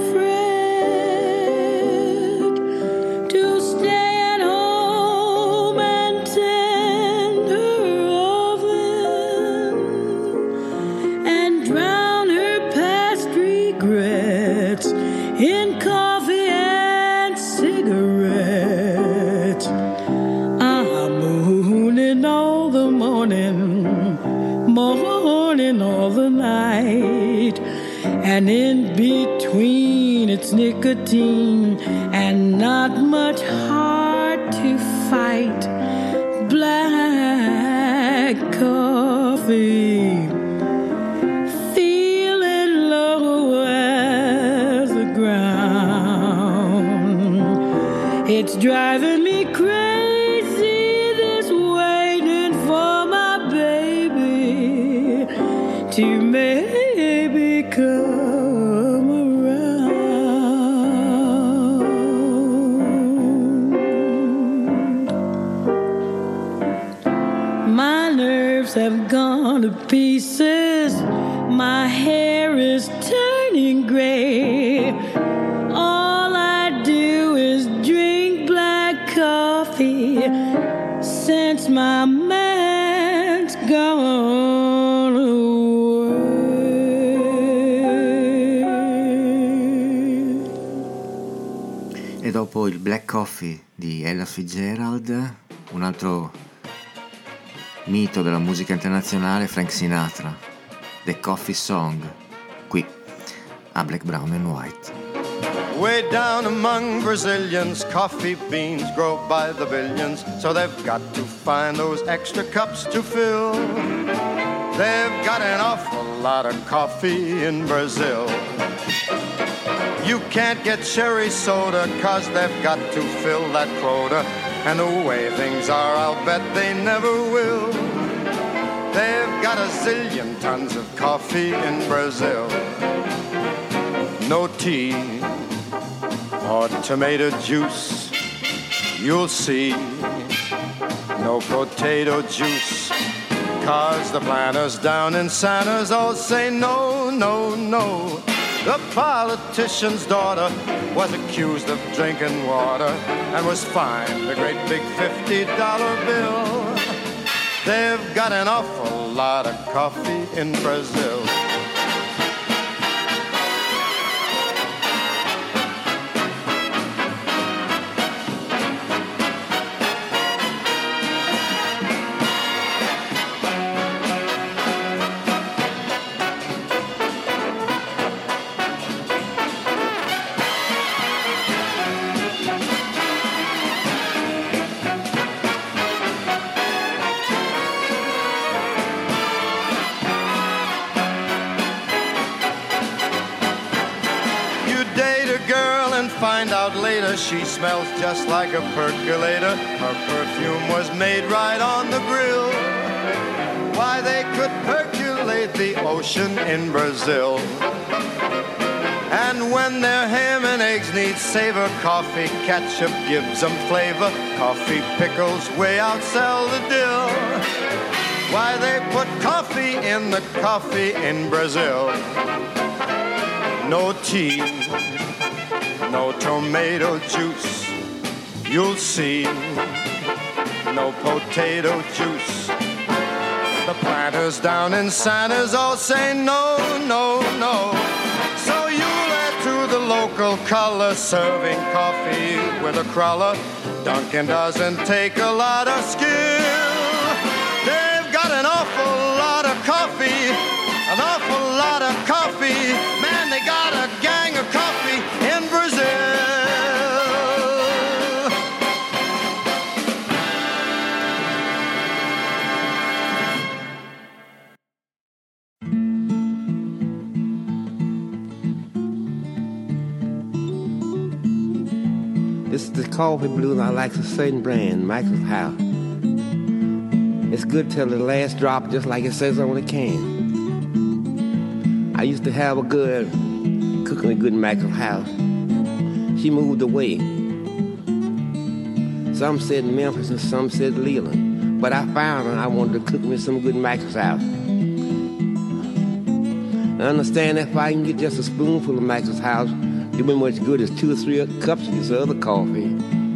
fret, to stay at home and tend her oven and drown her past regrets in coffee and cigarettes. I'm mooning all the morning, morning all the night, and in between it's nicotine and not much heart to fight. Black coffee, feeling low as the ground. It's driving me crazy, this waiting for my baby to maybe come around. My nerves have gone to pieces, my hair is turning gray. All I do is drink black coffee since my man's gone away. E dopo il Black Coffee di Ella Fitzgerald, un altro mito della musica internazionale, Frank Sinatra, The Coffee Song, qui a Black, Brown and White. Way down among Brazilians, coffee beans grow by the billions, so they've got to find those extra cups to fill. They've got an awful lot of coffee in Brazil. You can't get cherry soda, cause they've got to fill that quota, and the way things are, I'll bet they never will. They've got a zillion tons of coffee in Brazil. No tea or tomato juice, you'll see. No potato juice, cause the planters down in Santa's all say no, no, no. The politician's daughter was accused of drinking water and was fined a great big fifty dollar bill. They've got an awful lot of coffee in Brazil. Find out later she smells just like a percolator. Her perfume was made right on the grill. Why, they could percolate the ocean in Brazil. And when their ham and eggs need savor, coffee ketchup gives them flavor. Coffee pickles way outsell the dill. Why, they put coffee in the coffee in Brazil. No tea, no tomato juice, you'll see. No potato juice. The planters down in Santa's all say no, no, no. So you'll add to the local color, serving coffee with a crawler. Dunkin' doesn't take a lot of skill. They've got an awful lot of coffee, an awful lot of coffee. Man, they got a gang of coffee in Brazil. It's the coffee blues I like, a certain brand, Michael's House. It's good till the last drop, just like it says on the can. I used to have a good, cooking a good Michael's House. She moved away. Some said Memphis and some said Leland. But I found her, I wanted to cook me some good Michael's House. I understand that if I can get just a spoonful of Michael's House, it'll be much good as two or three cups of this other coffee.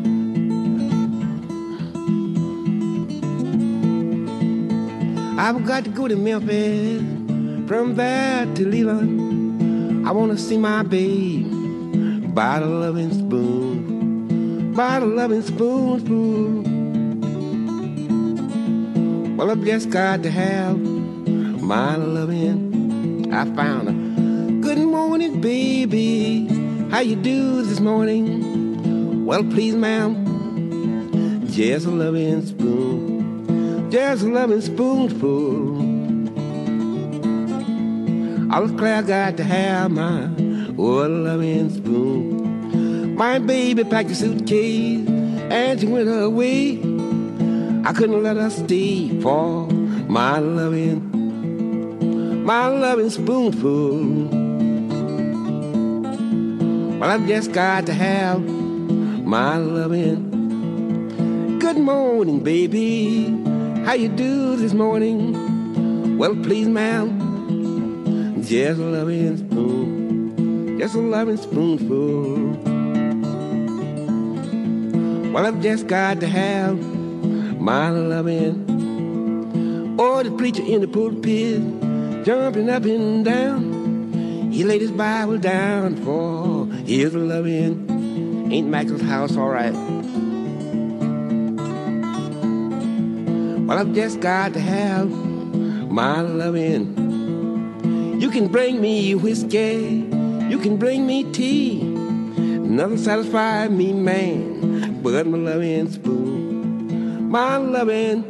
I've got to go to Memphis, from there to Leland. I want to see my babe by the loving spoon, by the loving spoon, spoon. Well, I've just got to have my loving. I found her. Good morning, baby. How you do this morning? Well, please, ma'am, just a loving spoon. Just a loving spoonful. I was glad I got to have my oh, loving spoon. My baby packed a suitcase and she went away. I couldn't let her stay for my loving, my loving spoonful. Well, I've just got to have my loving. Good morning, baby. How you do this morning? Well, please, ma'am, just a loving spoon, just a loving spoonful. Well, I've just got to have my loving. Oh, the preacher in the pulpit, jumping up and down. He laid his Bible down for his loving. Ain't Michael's House all right? Well, I've just got to have my loving. You can bring me whiskey, you can bring me tea. Nothing satisfies me, man, but my loving spoon, my loving.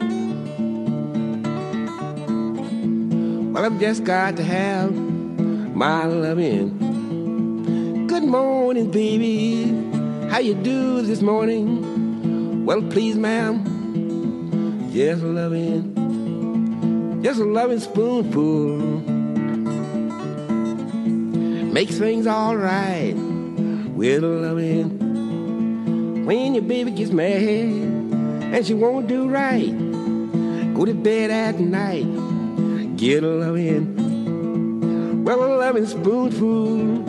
Well, I've just got to have my loving. Good morning, baby. How you do this morning? Well, please, ma'am, just a loving, just a loving spoonful. Makes things all right with a loving. When your baby gets mad and she won't do right, go to bed at night, get a loving. Well, a loving spoonful.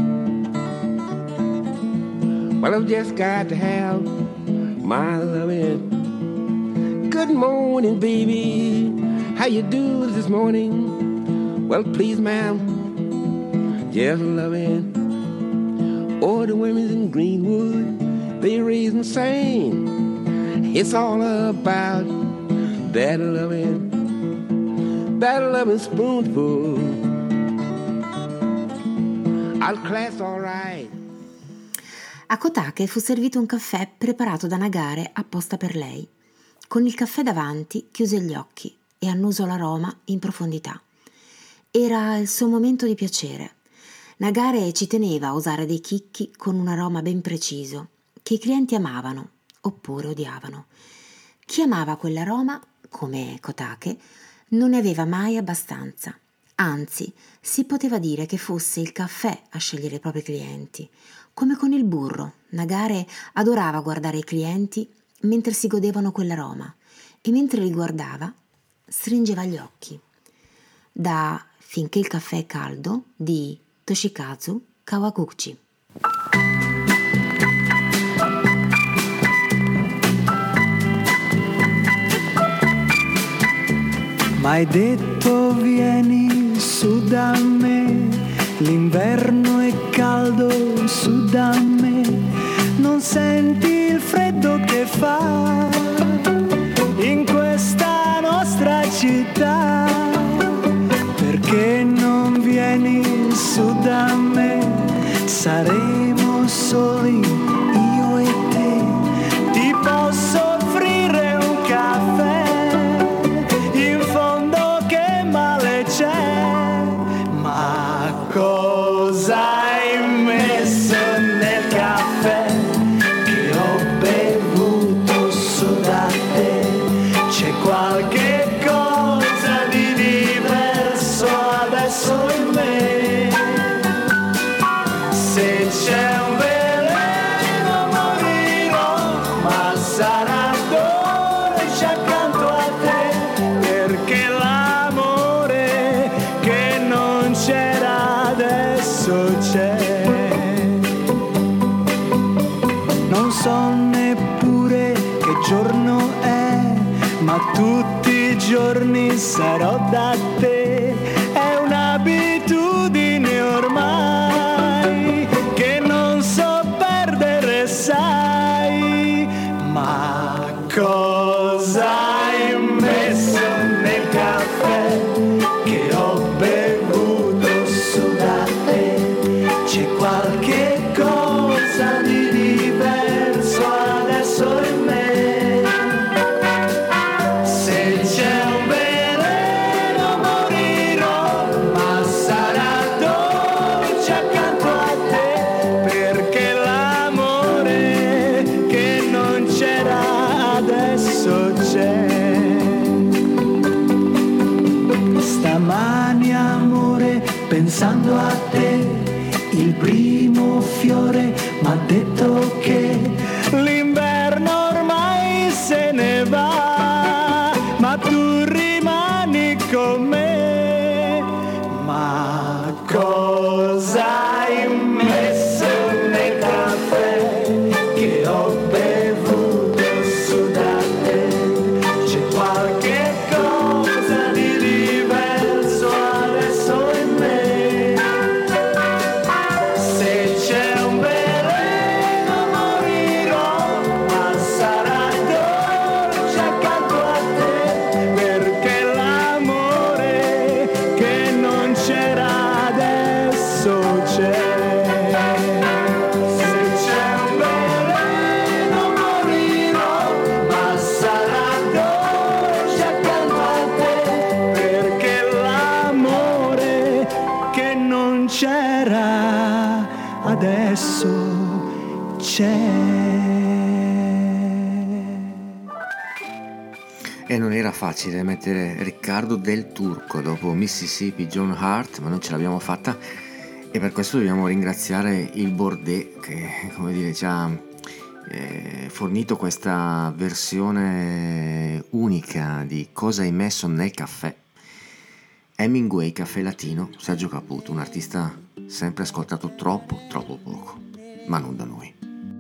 Well, I've just got to have my loving. Good morning, baby. How you do this morning? Well, please, ma'am, just a loving. Oh, the women in Greenwood, they raise and sing. It's all about that loving, that loving spoonful. I'll class all right. A Kotake fu servito un caffè preparato da Nagare apposta per lei. Con il caffè davanti chiuse gli occhi e annusò l'aroma in profondità. Era il suo momento di piacere. Nagare ci teneva a usare dei chicchi con un aroma ben preciso, che i clienti amavano oppure odiavano. Chi amava quell'aroma, come Kotake, non ne aveva mai abbastanza. Anzi, si poteva dire che fosse il caffè a scegliere i propri clienti. Come con il burro, Nagare adorava guardare i clienti mentre si godevano quell'aroma e mentre li guardava stringeva gli occhi. Da Finché il caffè è caldo di Toshikazu Kawaguchi. M'hai detto vieni su da me, l'inverno è caldo su da me, non senti il freddo che fa in questa nostra città, perché non vieni su da me, saremo soli io e te, ti posso offrire un caffè. Cosa hai messo nel caffè che ho tutti i giorni sarò da te, è un'abitudine ormai che non so perdere, sai. Ma cosa hai messo nel caffè che ho bevuto su da te? C'è qualche cosa di diverso adesso in me. Se c'è un veleno morirò, ma sarà dolce accanto a te, perché l'amore che non c'era adesso c'è. Stamani amore, pensando a te, il primo fiore m'ha detto che l'inverno ormai se ne va, ma tu rimani con me. Ma cosa hai messo nel caffè che ho bevuto su da te? C'è qualche cosa di diverso adesso in me. Se c'è un veleno morirò, ma sarà dolce accanto a te, perché l'amore che non c'era adesso c'è. Se c'è un veleno morirò, ma sarà dolce accanto a te, perché l'amore che non c'era adesso c'è. E non era facile mettere Riccardo Del Turco dopo Mississippi John Hart, ma non ce l'abbiamo fatta, e per questo dobbiamo ringraziare il Bordet che, come dire, ci ha eh, fornito questa versione unica di Cosa hai messo nel caffè. Hemingway, Caffè Latino, Sergio Caputo, un artista sempre ascoltato troppo, troppo poco, ma non da noi.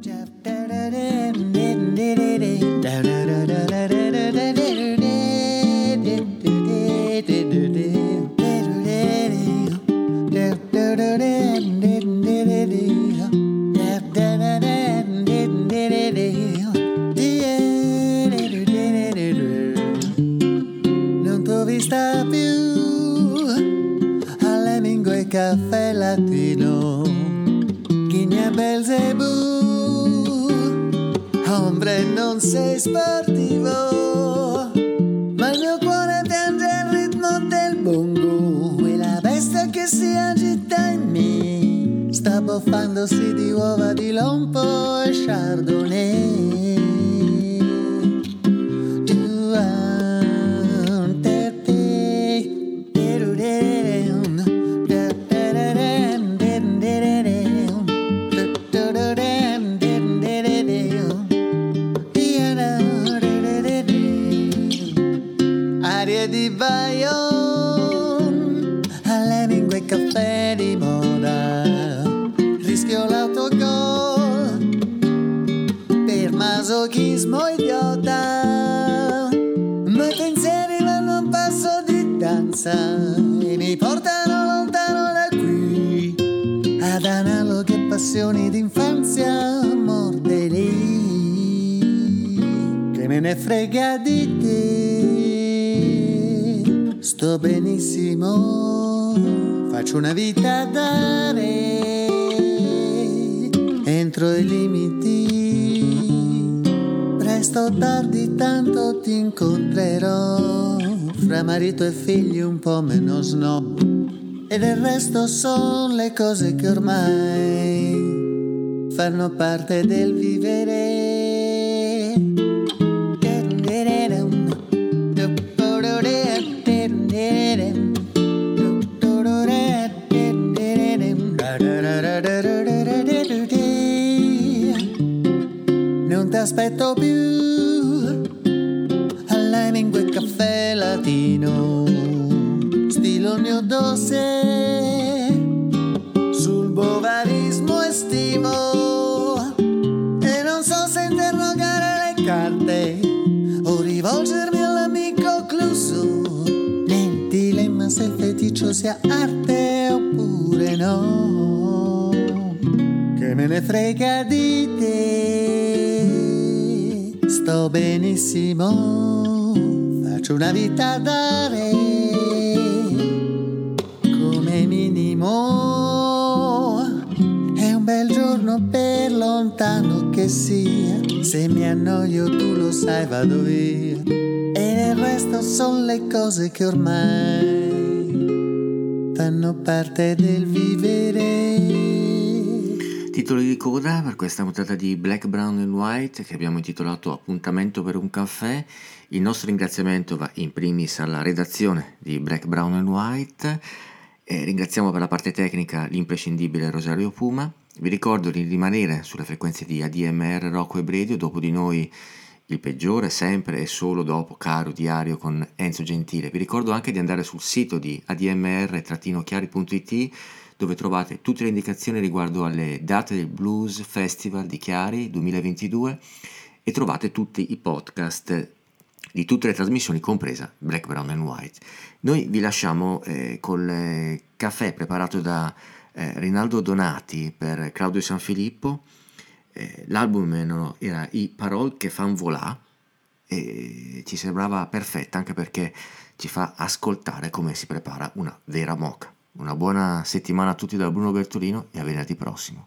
Non t'ho vista più all'Hemingway Caffè Latino, Chigna Belzebù, ombre non sei sportivo, ma il mio cuore piange il ritmo del bongo e la bestia che si agita in me sta boffandosi di uova di lompo e chardonnay. Di Bayonne all'Hemingway Caffè di moda, rischio l'autogol per masochismo idiota, ma i pensieri vanno a un passo di danza e mi portano lontano da qui ad analoghe passioni d'infanzia, morde lì, che me ne frega di te. Sto benissimo, faccio una vita a dare, entro i limiti, presto o tardi tanto ti incontrerò, fra marito e figli un po' meno snob, e del resto son le cose che ormai fanno parte del vivere. Non t'aspetto più all'Hemingway Caffè Latino, stilo il mio dossier sul bovarismo estivo, e non so se interrogare le carte o rivolgermi all'amico pasticcio sia arte oppure no, che me ne frega di te, sto benissimo, faccio una vita da re, come minimo è un bel giorno per lontano che sia, se mi annoio tu lo sai vado via, e il resto sono le cose che ormai fanno parte del vivere. Titolo di coda per questa puntata di Black, Brown and White che abbiamo intitolato Appuntamento per un caffè. Il nostro ringraziamento va in primis alla redazione di Black, Brown and White e ringraziamo per la parte tecnica l'imprescindibile Rosario Puma. Vi ricordo di rimanere sulle frequenze di A D M R Rocco e Bredio, dopo di noi il peggiore sempre e solo dopo Caro Diario con Enzo Gentile. Vi ricordo anche di andare sul sito di a d m r chiari punto i t dove trovate tutte le indicazioni riguardo alle date del Blues Festival di Chiari duemilaventidue e trovate tutti i podcast di tutte le trasmissioni, compresa Black, Brown and White. Noi vi lasciamo eh, col eh, caffè preparato da eh, Rinaldo Donati per Claudio Sanfilippo. Eh, l'album era I Parole che fan volà e ci sembrava perfetta anche perché ci fa ascoltare come si prepara una vera moka. Una buona settimana a tutti da Bruno Bertolino e a venerdì prossimo.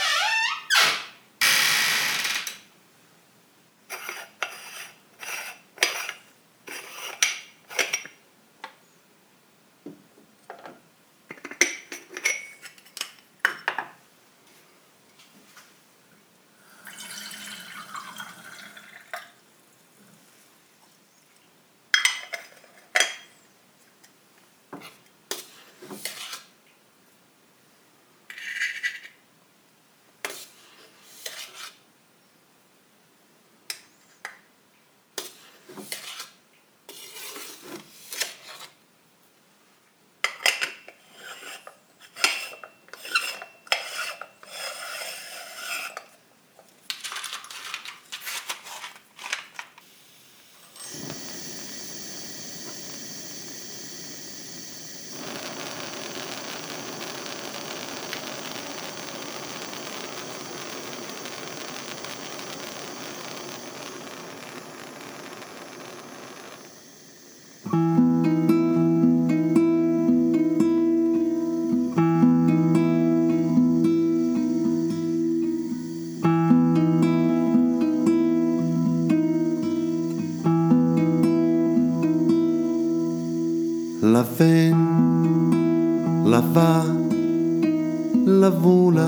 La ven, la va, la vola,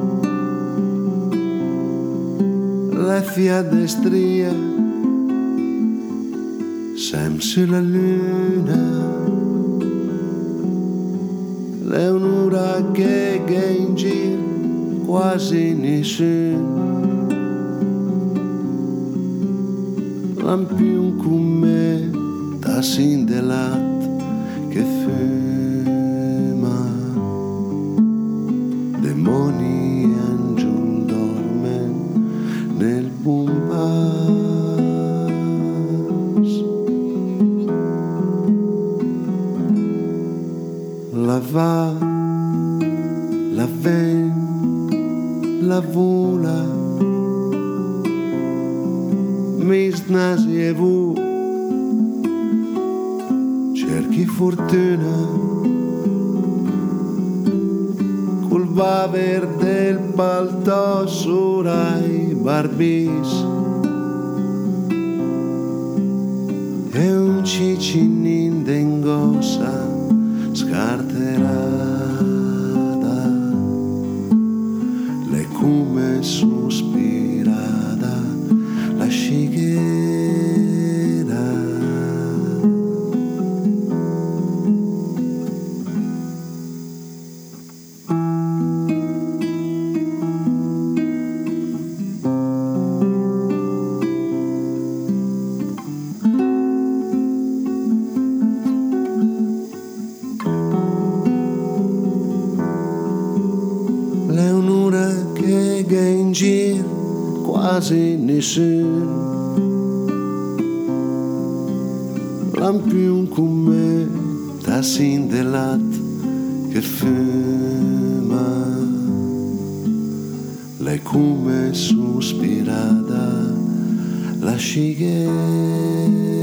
la fiadestria, sem sulla luna, l'un'ora che è in giro, quasi nessuno, lampion con me, da sin dell'atto che fuma, demoni e angel dormen nel bombas. La va, la ven, la vola, mis nasi e vu, cerchi fortuna col baver del palto surai barbis e un cicinin d'engossa scarterata, le come sospirada la scighera. Quasi nessuno, lampion con me, da sindelat che fuma, lei come sospirada la scighera.